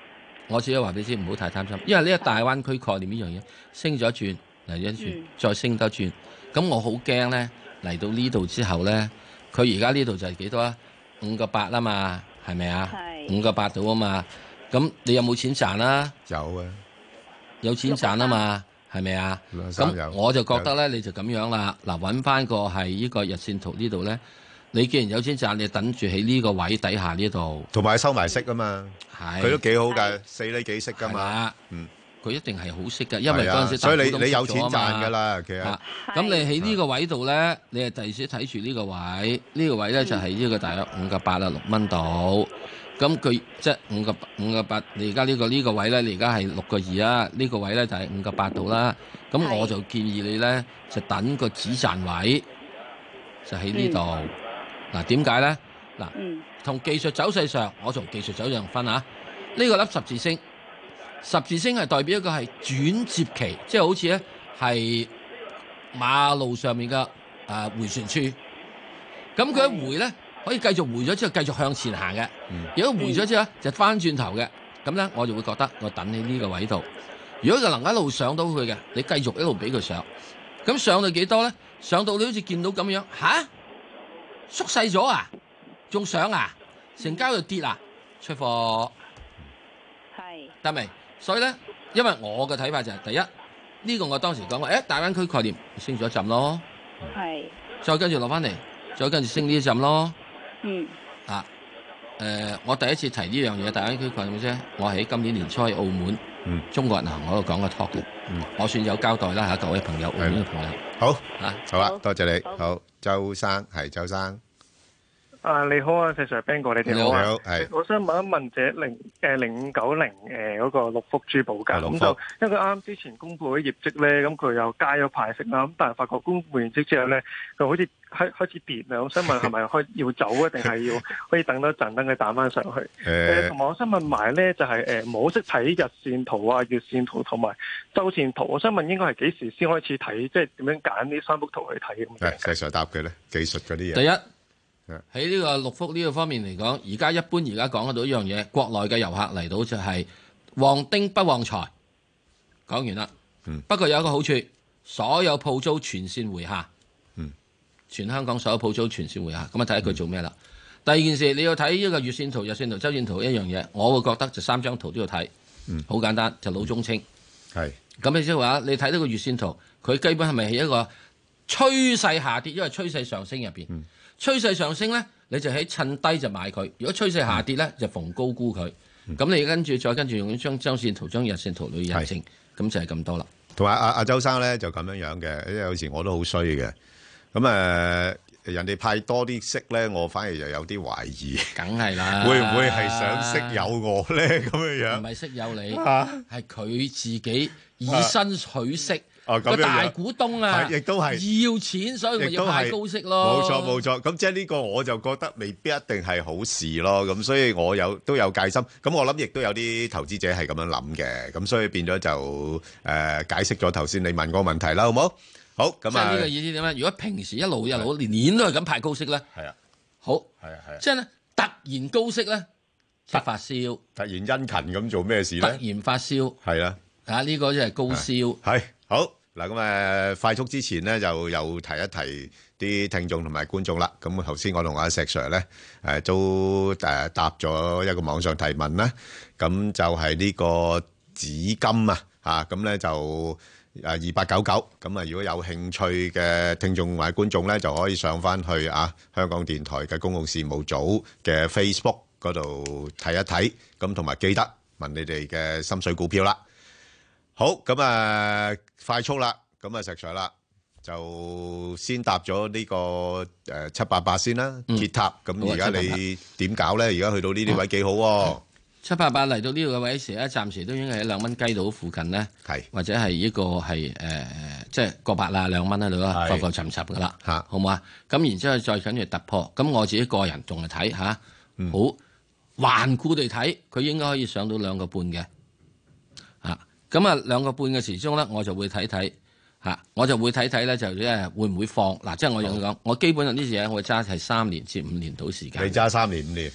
S5: 我只係話俾你知，唔好太貪心，因為呢個大灣區概念呢樣嘢升咗一轉嚟一轉，嗯、再升多轉，咁我好驚咧嚟到呢度之後咧，佢而家呢度就係幾多啊？五個八啊嘛，係咪啊？五個八到啊嘛，咁你有冇錢賺啊？
S4: 有啊，
S5: 有錢賺啊嘛，係咪啊？咁我就覺得咧，你就咁樣啦。嗱，揾翻個係呢個日線圖呢度咧。你既然有錢賺，你等住喺呢個位底下呢度，
S4: 同埋收埋息啊嘛，佢都幾好㗎，四厘幾息㗎嘛，嗯，
S5: 佢一定係好息㗎，因為嗰陣時
S4: 所以你你有錢賺㗎啦，其實。
S5: 咁你喺呢個位度咧，你係第時睇住呢個位，呢個位咧就係呢個大約五個八啊六蚊度。咁佢即係五個五個八，你而家呢個呢個位咧，你而家係六個二啊，呢個位咧就係五個八度啦。咁我就建議你咧，就等個止賺位，就喺呢度。嗱，點解咧？嗱，同技術走勢上，我從技術走勢上分啊。呢、這個粒十字星，十字星係代表一個係轉接期，即係好似咧係馬路上面嘅誒、呃、迴旋處。咁佢一回咧，可以繼續回咗之後繼續向前行嘅。嗯、如果回咗之後就翻轉頭嘅，咁咧我就會覺得我等喺呢個位度。如果佢能夠一路上到去嘅，你繼續一路俾佢上。咁上到幾多咧？上到你好似見到咁樣吓？縮細咗啊，仲上啊，成交又跌啊，出貨係得未？所以咧，因為我嘅睇法就係、是、第一，呢、這個我當時講過，誒，大灣區概念升咗一陣咯，係，再跟住落翻嚟，再跟住升呢一陣咯，嗯，啊，誒、呃，我第一次提呢樣嘢，大灣區概念啫，我喺今年年初喺澳門，嗯，中國銀行嗰度講個 talk 嘅，嗯，我算有交代啦嚇，各位朋友，澳門嘅朋友，
S4: 好，啊，好啊，多謝你，好。好周生係周生，
S12: 啊你好啊，石 Sir Ben 哥，你哋好啊，
S4: 係，
S12: 我想問一問隻零誒零五九零誒嗰個六福珠寶價，咁就因為佢啱啱之前公布咗業績咧，咁佢又加咗派息啦，咁但係發覺公布完績之後咧，佢好似開開始跌啦，我想問係咪開要走啊，定係要可以等多陣等佢彈翻上去？誒，同埋我想問埋咧，就係誒冇識睇日線圖啊、月線圖同埋周線圖，我想問應該係幾時先開始睇，即係點樣揀呢三幅圖去睇咁？
S4: 係，石 Sir答佢咧，技術嗰啲嘢。
S5: 第一。喺呢個六福呢個方面嚟講，而家一般而家講得到一樣嘢，國內嘅遊客嚟到就係旺丁不旺財。講完啦，嗯、不過有一個好處，所有鋪租全線回下，嗯、全香港所有鋪租全線回下，咁啊睇下佢做咩啦。嗯、第二件事你要睇呢個月線圖、日線圖、周線圖一樣嘢，我會覺得就三張圖都要睇，好、嗯、簡單就老中青。係咁你即係話，你睇到個月線圖，佢基本係咪係一個趨勢下跌，因為趨勢上升入邊。嗯趨勢上升咧，你就喺趁低就買佢；如果趨勢下跌咧，就逢高沽佢。咁、嗯、你跟住再跟住用張周線圖、張日線圖去印證，咁就係咁多啦。
S4: 同埋阿阿周生咧就咁樣樣嘅，因為有時我都好衰嘅。咁誒、呃，人哋派多啲息咧，我反而又有啲懷疑。
S5: 梗係啦，
S4: 會唔會係想息誘我咧？咁樣樣
S5: 唔係息誘你，係佢、啊、自己以身取息。啊個、哦、大股東啊，
S4: 亦都係
S5: 要錢，所以咪要派高息咯。
S4: 冇錯冇錯，咁即係呢個我就覺得未必一定係好事咯。咁所以我有都有戒心。咁我諗亦都有啲投資者係咁樣諗嘅。咁所以變咗就誒、呃、解釋咗頭先你問嗰個問題啦，好冇？好咁啊。即係呢個意思點咧？如果平時一路一路年年都係咁派高息咧，係啊，好係啊係啊，即係咧突然高息咧，發發燒， 突然殷勤咁做咩事咧？
S5: 突然發燒
S4: 係啊，
S5: 啊呢個即係高燒
S4: 係好。嗱咁誒快速之前咧，就又提一提啲聽眾同埋觀眾啦。咁頭先我同阿石 Sir 咧誒都誒答咗一個網上提問啦。咁就係呢個紫金啊嚇，咁咧就誒二八九九。咁啊，如果有興趣嘅聽眾或者觀眾咧，就可以上翻去啊香港電台嘅公共事務組嘅 Facebook 嗰度睇一睇。咁同埋記得問你哋嘅心水股票啦。好咁啊，快速啦，咁啊石 Sir 啦，就先搭咗呢個誒七八八先啦，鐵塔。咁而家你點搞咧？而家去到呢啲位幾好喎？
S5: 七八八嚟到呢個位時咧，暫時都應該喺兩蚊雞度附近咧，係或者係呢個係誒即係個八啦兩蚊喺度啦，浮浮沉沉噶啦嚇，好唔好啊？咁然之後再跟住突破，咁我自己個人仲係睇嚇，好頑固地睇，佢應該可以上到兩個半嘅。咁啊，兩個半嘅時鐘咧，我就會睇睇嚇，我就會睇睇咧，就即係會唔會放嗱，即係我用講，我基本上呢啲嘢我會揸係三年至五年到時間。
S4: 你揸三年五年，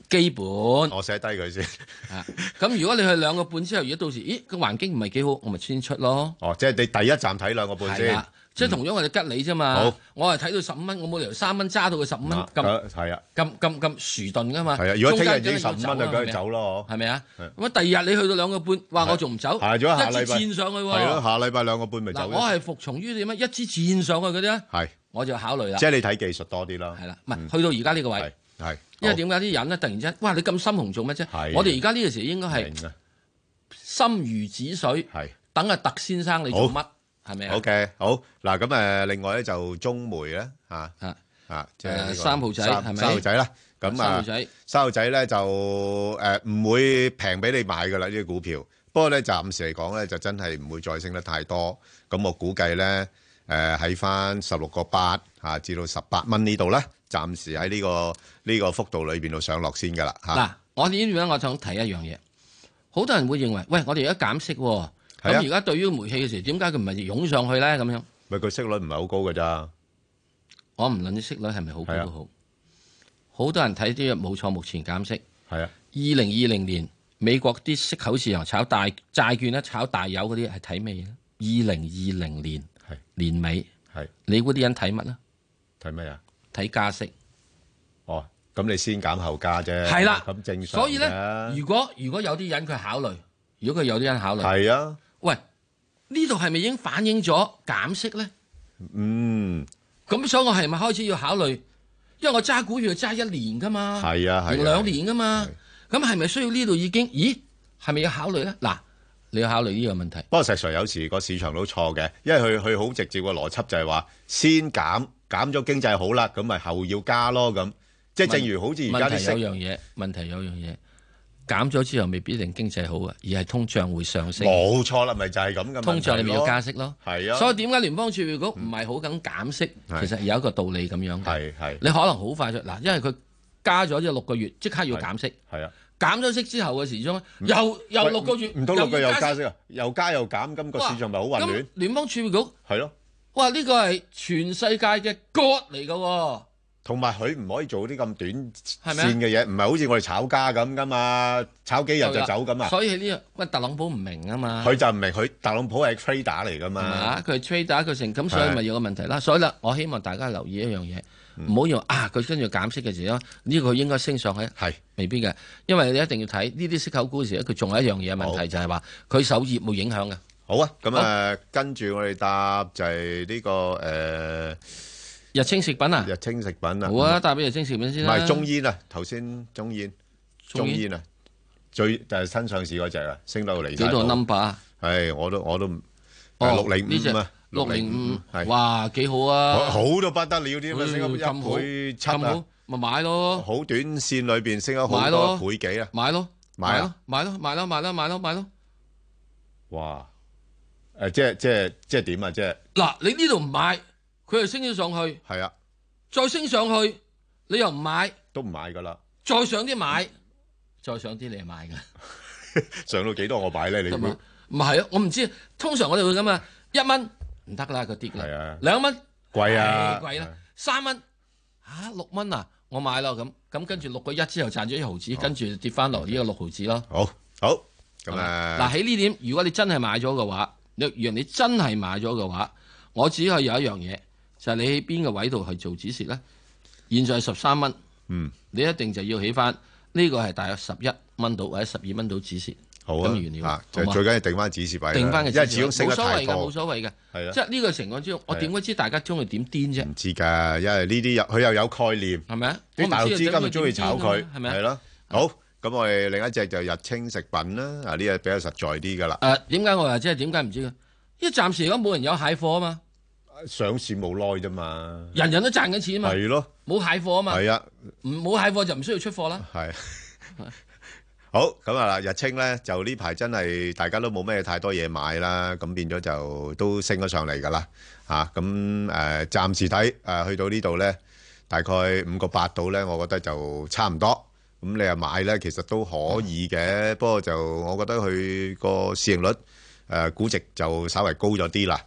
S5: 基本。
S4: 我寫低佢先。
S5: 啊，咁如果你去兩個半之後，如果到時，咦個環境唔係幾好，我咪先出咯。
S4: 哦，即係你第一站睇兩個半先。
S5: 即係同樣我哋吉你啫嘛。好，我係睇到十五蚊，我冇理由三蚊揸到佢十五蚊咁。係啊，咁咁咁殊頓噶嘛。
S4: 係啊，如果聽日已經十五蚊就梗係走咯，
S5: 係咪啊？咁啊，第二日你去到兩個半，哇！我仲唔走？
S4: 係咗下禮拜。
S5: 一支箭上去喎。
S4: 係咯，下禮拜兩個半咪走。
S5: 嗱，我係服從於點啊？一支箭上去嗰啲咧，
S4: 係
S5: 我就考慮啦。
S4: 即係你睇技術多啲啦。
S5: 係啦，唔係去到而家呢個位。
S4: 係。
S5: 因為點解啲人咧突然之間，哇！你咁深紅做乜啫？我哋而家呢個時應該係心如止水，等阿特先生你做乜？係咪啊
S4: ？OK， 好嗱，咁誒，另外咧就中煤咧嚇
S5: 嚇
S4: 嚇，即係
S5: 三號仔係咪？
S4: 三號仔啦，咁啊，
S5: 三號仔，
S4: 三號仔咧就誒唔會平俾你買噶啦呢啲股票，不過咧暫時嚟講咧就真係唔會再升得太多，咁我估計咧誒喺翻十六個八嚇至到十八蚊呢度咧，暫時喺呢個呢個幅度裏邊度上落先噶啦嚇。
S5: 嗱，我點樣我想提一樣嘢，好多人會認為，喂，我哋而家減息喎。咁而家對於煤氣嘅時候，點解佢唔係湧上去咧？咁樣
S4: 咪佢息率唔係好高㗎咋？
S5: 我唔論啲息率係咪好高都好，好多人睇啲冇錯，目前減息。
S4: 係啊，
S5: 二零二零年美國啲息口市場炒大債券咧，炒大油嗰啲係睇咩嘢咧？二零二零年年尾
S4: 係
S5: 你估啲人睇乜咧？
S4: 睇咩啊？
S5: 睇加息。
S4: 哦，咁你先減後加啫。
S5: 係啦，
S4: 咁正常。
S5: 所以咧，如果如果有啲人佢考慮，如果佢有啲人考慮，
S4: 係啊。
S5: 喂，呢度係咪已經反映咗減息咧？
S4: 嗯，
S5: 咁所以我係咪開始要考慮？因為我揸股票揸一年噶嘛，
S4: 係啊，係
S5: 兩年噶嘛，咁係咪需要呢度已經？咦，係咪要考慮咧？嗱，你要考慮呢個問題。
S4: 不過實際有時個市場都錯嘅，因為佢佢好直接個邏輯就係話先減減咗經濟好啦，咁咪後要加咯咁。即係正如好似而家啲
S5: 問題有樣嘢，問題有樣嘢。減咗之後未必一定經濟好啊，而係通脹會上升。
S4: 冇錯啦，咪就係咁嘅。
S5: 通脹你咪要加息咯。
S4: 係啊。
S5: 所以點解聯邦儲備局唔係好咁減息？其實有一個道理咁樣嘅。
S4: 係係。
S5: 你可能好快就嗱，因為佢加咗即係六個月，即刻要減息。
S4: 係啊。
S5: 減咗息之後嘅時鐘，又又六個月，
S4: 唔通六個月又加息啊？又加又減，咁個市場咪好混亂？
S5: 聯邦儲備局
S4: 係咯。
S5: 哇！呢個係全世界嘅 God 嚟㗎喎。
S4: 同埋佢唔可以做啲咁短線嘅嘢，唔係好似我哋炒家咁噶嘛，炒幾日就走咁啊！
S5: 所以呢個乜特朗普唔明啊嘛，
S4: 佢就唔明，佢特朗普係 trader 嚟噶嘛，
S5: 佢係 trader 佢成咁，所以咪有個問題啦。所以啦，我希望大家留意一樣嘢，唔好用啊佢跟住減息嘅時候，呢個應該升上去，
S4: 係未
S5: 必嘅，因為你一定要睇呢啲息口股嘅時候，佢仲有一樣嘢問題就係話佢受業務影響嘅。
S4: 好啊，咁啊跟住我哋答就係呢個誒。
S5: 日清食品啊，
S4: 日清食品啊，
S5: 好啊，帶俾日清食品先啦。
S4: 唔係中煙啊，頭先中煙，中煙啊，最就係新上市嗰隻啊，升到嚟。
S5: 幾多 number 啊？
S4: 係，我都我都
S5: 哦
S4: 六零五啊，
S5: 六零五，哇，幾好啊！
S4: 好到不得了啲咁啊，升咗一倍七啊，
S5: 咪買咯。
S4: 好短線裏邊升咗好多倍幾啊！
S5: 買咯，
S4: 買咯，
S5: 買咯，買咯，買咯，買咯，買咯。
S4: 哇！誒，即係即係即係點啊？即係
S5: 嗱，你呢度唔買。佢又升咗上去，
S4: 係啊，
S5: 再升上去，你又唔買，
S4: 都唔買噶啦。
S5: 再上啲買，再上啲你係買噶。
S4: 上到幾多我買咧？你
S5: 唔唔係啊？我唔知，通常我哋會咁啊，一蚊唔得啦，嗰啲嘅。係啊，兩蚊
S4: 貴啊，
S5: 貴啦，三蚊嚇六蚊啊，我買咯咁，咁跟住六個一之後賺咗一毫子，跟住跌翻落呢個六毫子咯。
S4: 好，好，咁啊，
S5: 嗱喺呢點，如果你真係買咗嘅話，若然你真係買咗嘅話，我只係有一樣嘢。就係你喺邊個位度去做止蝕咧？現在十三蚊，
S4: 嗯，
S5: 你一定就要起翻呢個係大約十一蚊到或者十二蚊到止蝕。
S4: 好啊，
S5: 咁原料
S4: 就最緊要定翻止蝕位，
S5: 定翻嘅，
S4: 因為始終升得太多，
S5: 冇所謂嘅，冇所謂嘅，
S4: 係啊，
S5: 即係呢個情況之中，我點會知大家中意點癲啫？
S4: 唔知㗎，因為呢啲佢又有概念，
S5: 係咪啊？
S4: 啲大陸資金咪中意炒佢，
S5: 係咪啊？
S4: 係咯，好，咁我哋另一隻就日清食品啦，啊呢隻比較實在啲㗎啦。
S5: 誒點解我話即係點解唔知嘅？因為暫時嚟講冇人有蟹貨啊嘛。
S4: 上市冇耐啫嘛，
S5: 人人都賺緊錢啊嘛，
S4: 係咯，
S5: 冇蟹貨啊嘛，
S4: 係啊，
S5: 唔冇蟹貨就唔需要出貨啦。
S4: 係，好咁啊！日清咧就呢排真係大家都冇咩太多嘢買啦，咁變咗就都升咗上嚟㗎啦，嚇咁誒暫時睇誒去到呢度咧，大概五個八度咧，我覺得就差唔多。咁你又買咧，其實都可以嘅，不過就我覺得佢個市盈率誒估值就稍微高咗啲啦。咁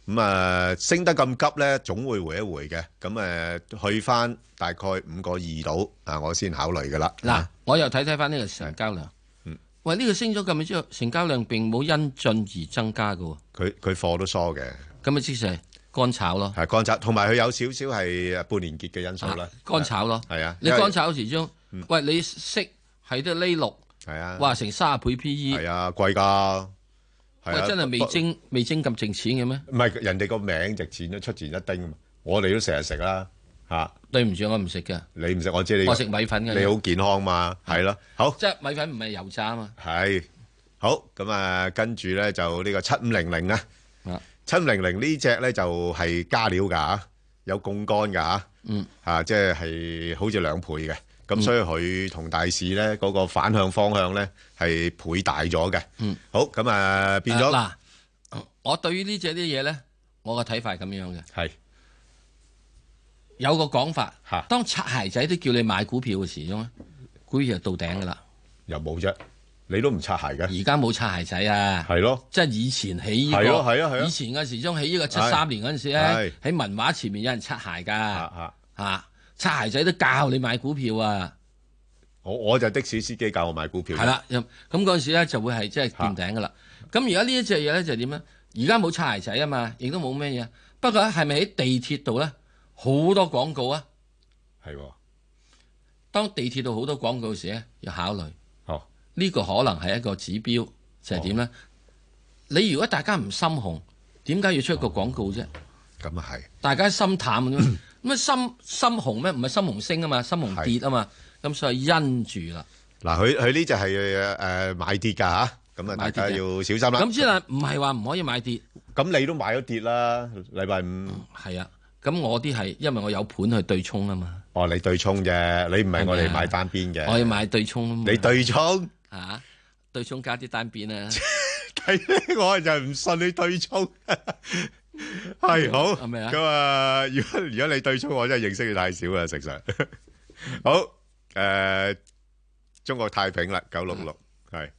S4: 咁啊升得咁急咧，總會回一回嘅。咁誒去翻大概五個二度啊，我先考慮噶啦。
S5: 嗱，我又睇睇翻呢個成交量。嗯，喂，呢個升咗咁樣之後，成交量並冇因進而增加噶喎。
S4: 佢佢貨都疏嘅。
S5: 咁啊，即係乾炒咯。
S4: 係乾炒，同埋佢有少少係半年結嘅因素啦。
S5: 乾炒咯。
S4: 係啊，
S5: 你乾炒時鐘，喂，你息係得呢六。係啊。哇，成卅倍 P E。
S4: 係啊，貴㗎。
S5: 喂，真係未徵未徵咁值錢嘅咩？
S4: 唔係，人哋個名值錢都出前一丁，我哋都成日食啦嚇。
S5: 對唔住，我唔食嘅。
S4: 你唔食，我知你。
S5: 我食米粉嘅。
S4: 你好健康嘛？係咯，好。
S5: 即係米粉唔係油炸啊嘛。
S4: 係，好咁啊，跟住咧就呢個七五零零啊。啊。七五零零呢隻咧就係加料㗎嚇，有槓桿㗎嚇。嗯。嚇，即係係好似兩倍嘅。咁所以佢同大市咧嗰個反向方向咧係倍大咗嘅。嗯，好咁啊變咗
S5: 嗱，我對於呢隻啲嘢咧，我個睇法係咁樣嘅。係有個講法，當擦鞋仔都叫你買股票嘅時鐘咧，股票就到頂噶啦。
S4: 又冇啫，你都唔擦鞋嘅。
S5: 而家冇擦鞋仔啊。係咯，即係以前起呢個，係啊係啊係啊。以前嘅時鐘起呢個七三年嗰陣時咧，喺文華前面有人擦鞋㗎。嚇嚇。擦鞋仔都教你買股票啊！
S4: 我我就的士司機教我買股票。
S5: 係啦，咁嗰陣時咧就會係即係見頂噶啦。咁而家呢一隻嘢咧就係點咧？而家冇擦鞋仔啊嘛，亦都冇咩嘢。不過係咪喺地鐵度咧好多廣告啊？係喎。當地鐵度好多廣告時咧，要考慮。哦。呢個可能係一個指標，就係點咧？你如果大家唔心紅，點解要出一個廣告啫？
S4: 咁啊係。大
S5: 家心淡嘅啫。咁啊心心紅咩？唔係心紅升啊嘛，心紅跌啊嘛，咁所以因住啦。
S4: 嗱，佢佢呢就係誒買跌㗎嚇，咁啊大家要小心啦。
S5: 咁之但唔係話唔可以買跌。
S4: 咁你都買咗跌啦，禮拜五。
S5: 係啊，咁我啲係因為我有盤去對沖啊嘛。
S4: 哦，你對沖啫，你唔係我哋買單邊嘅。
S5: 我要買對沖啊嘛。
S4: 你對沖
S5: 嚇？對沖加啲單邊啊？
S4: 係我就唔信你對沖。係好，
S5: 係咪啊？
S4: 咁啊，如果如果你對沖，我真係認識你太少啦，實上。好，誒，中國太平啦，九六六係，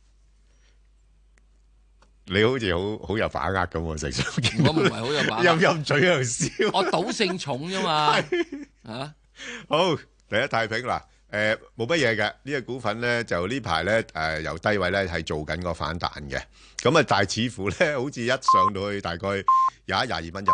S4: 你好似好好有把握咁喎，實上。
S5: 我唔係好有把握，
S4: 陰陰嘴喺度笑。
S5: 我賭性重啫嘛。啊，
S4: 好，第一太平啦。誒冇乜嘢嘅，呢、這個股份咧就呢排咧誒由低位咧係做緊個反彈嘅，咁啊但係似乎咧好似一上到去大概廿一廿二蚊入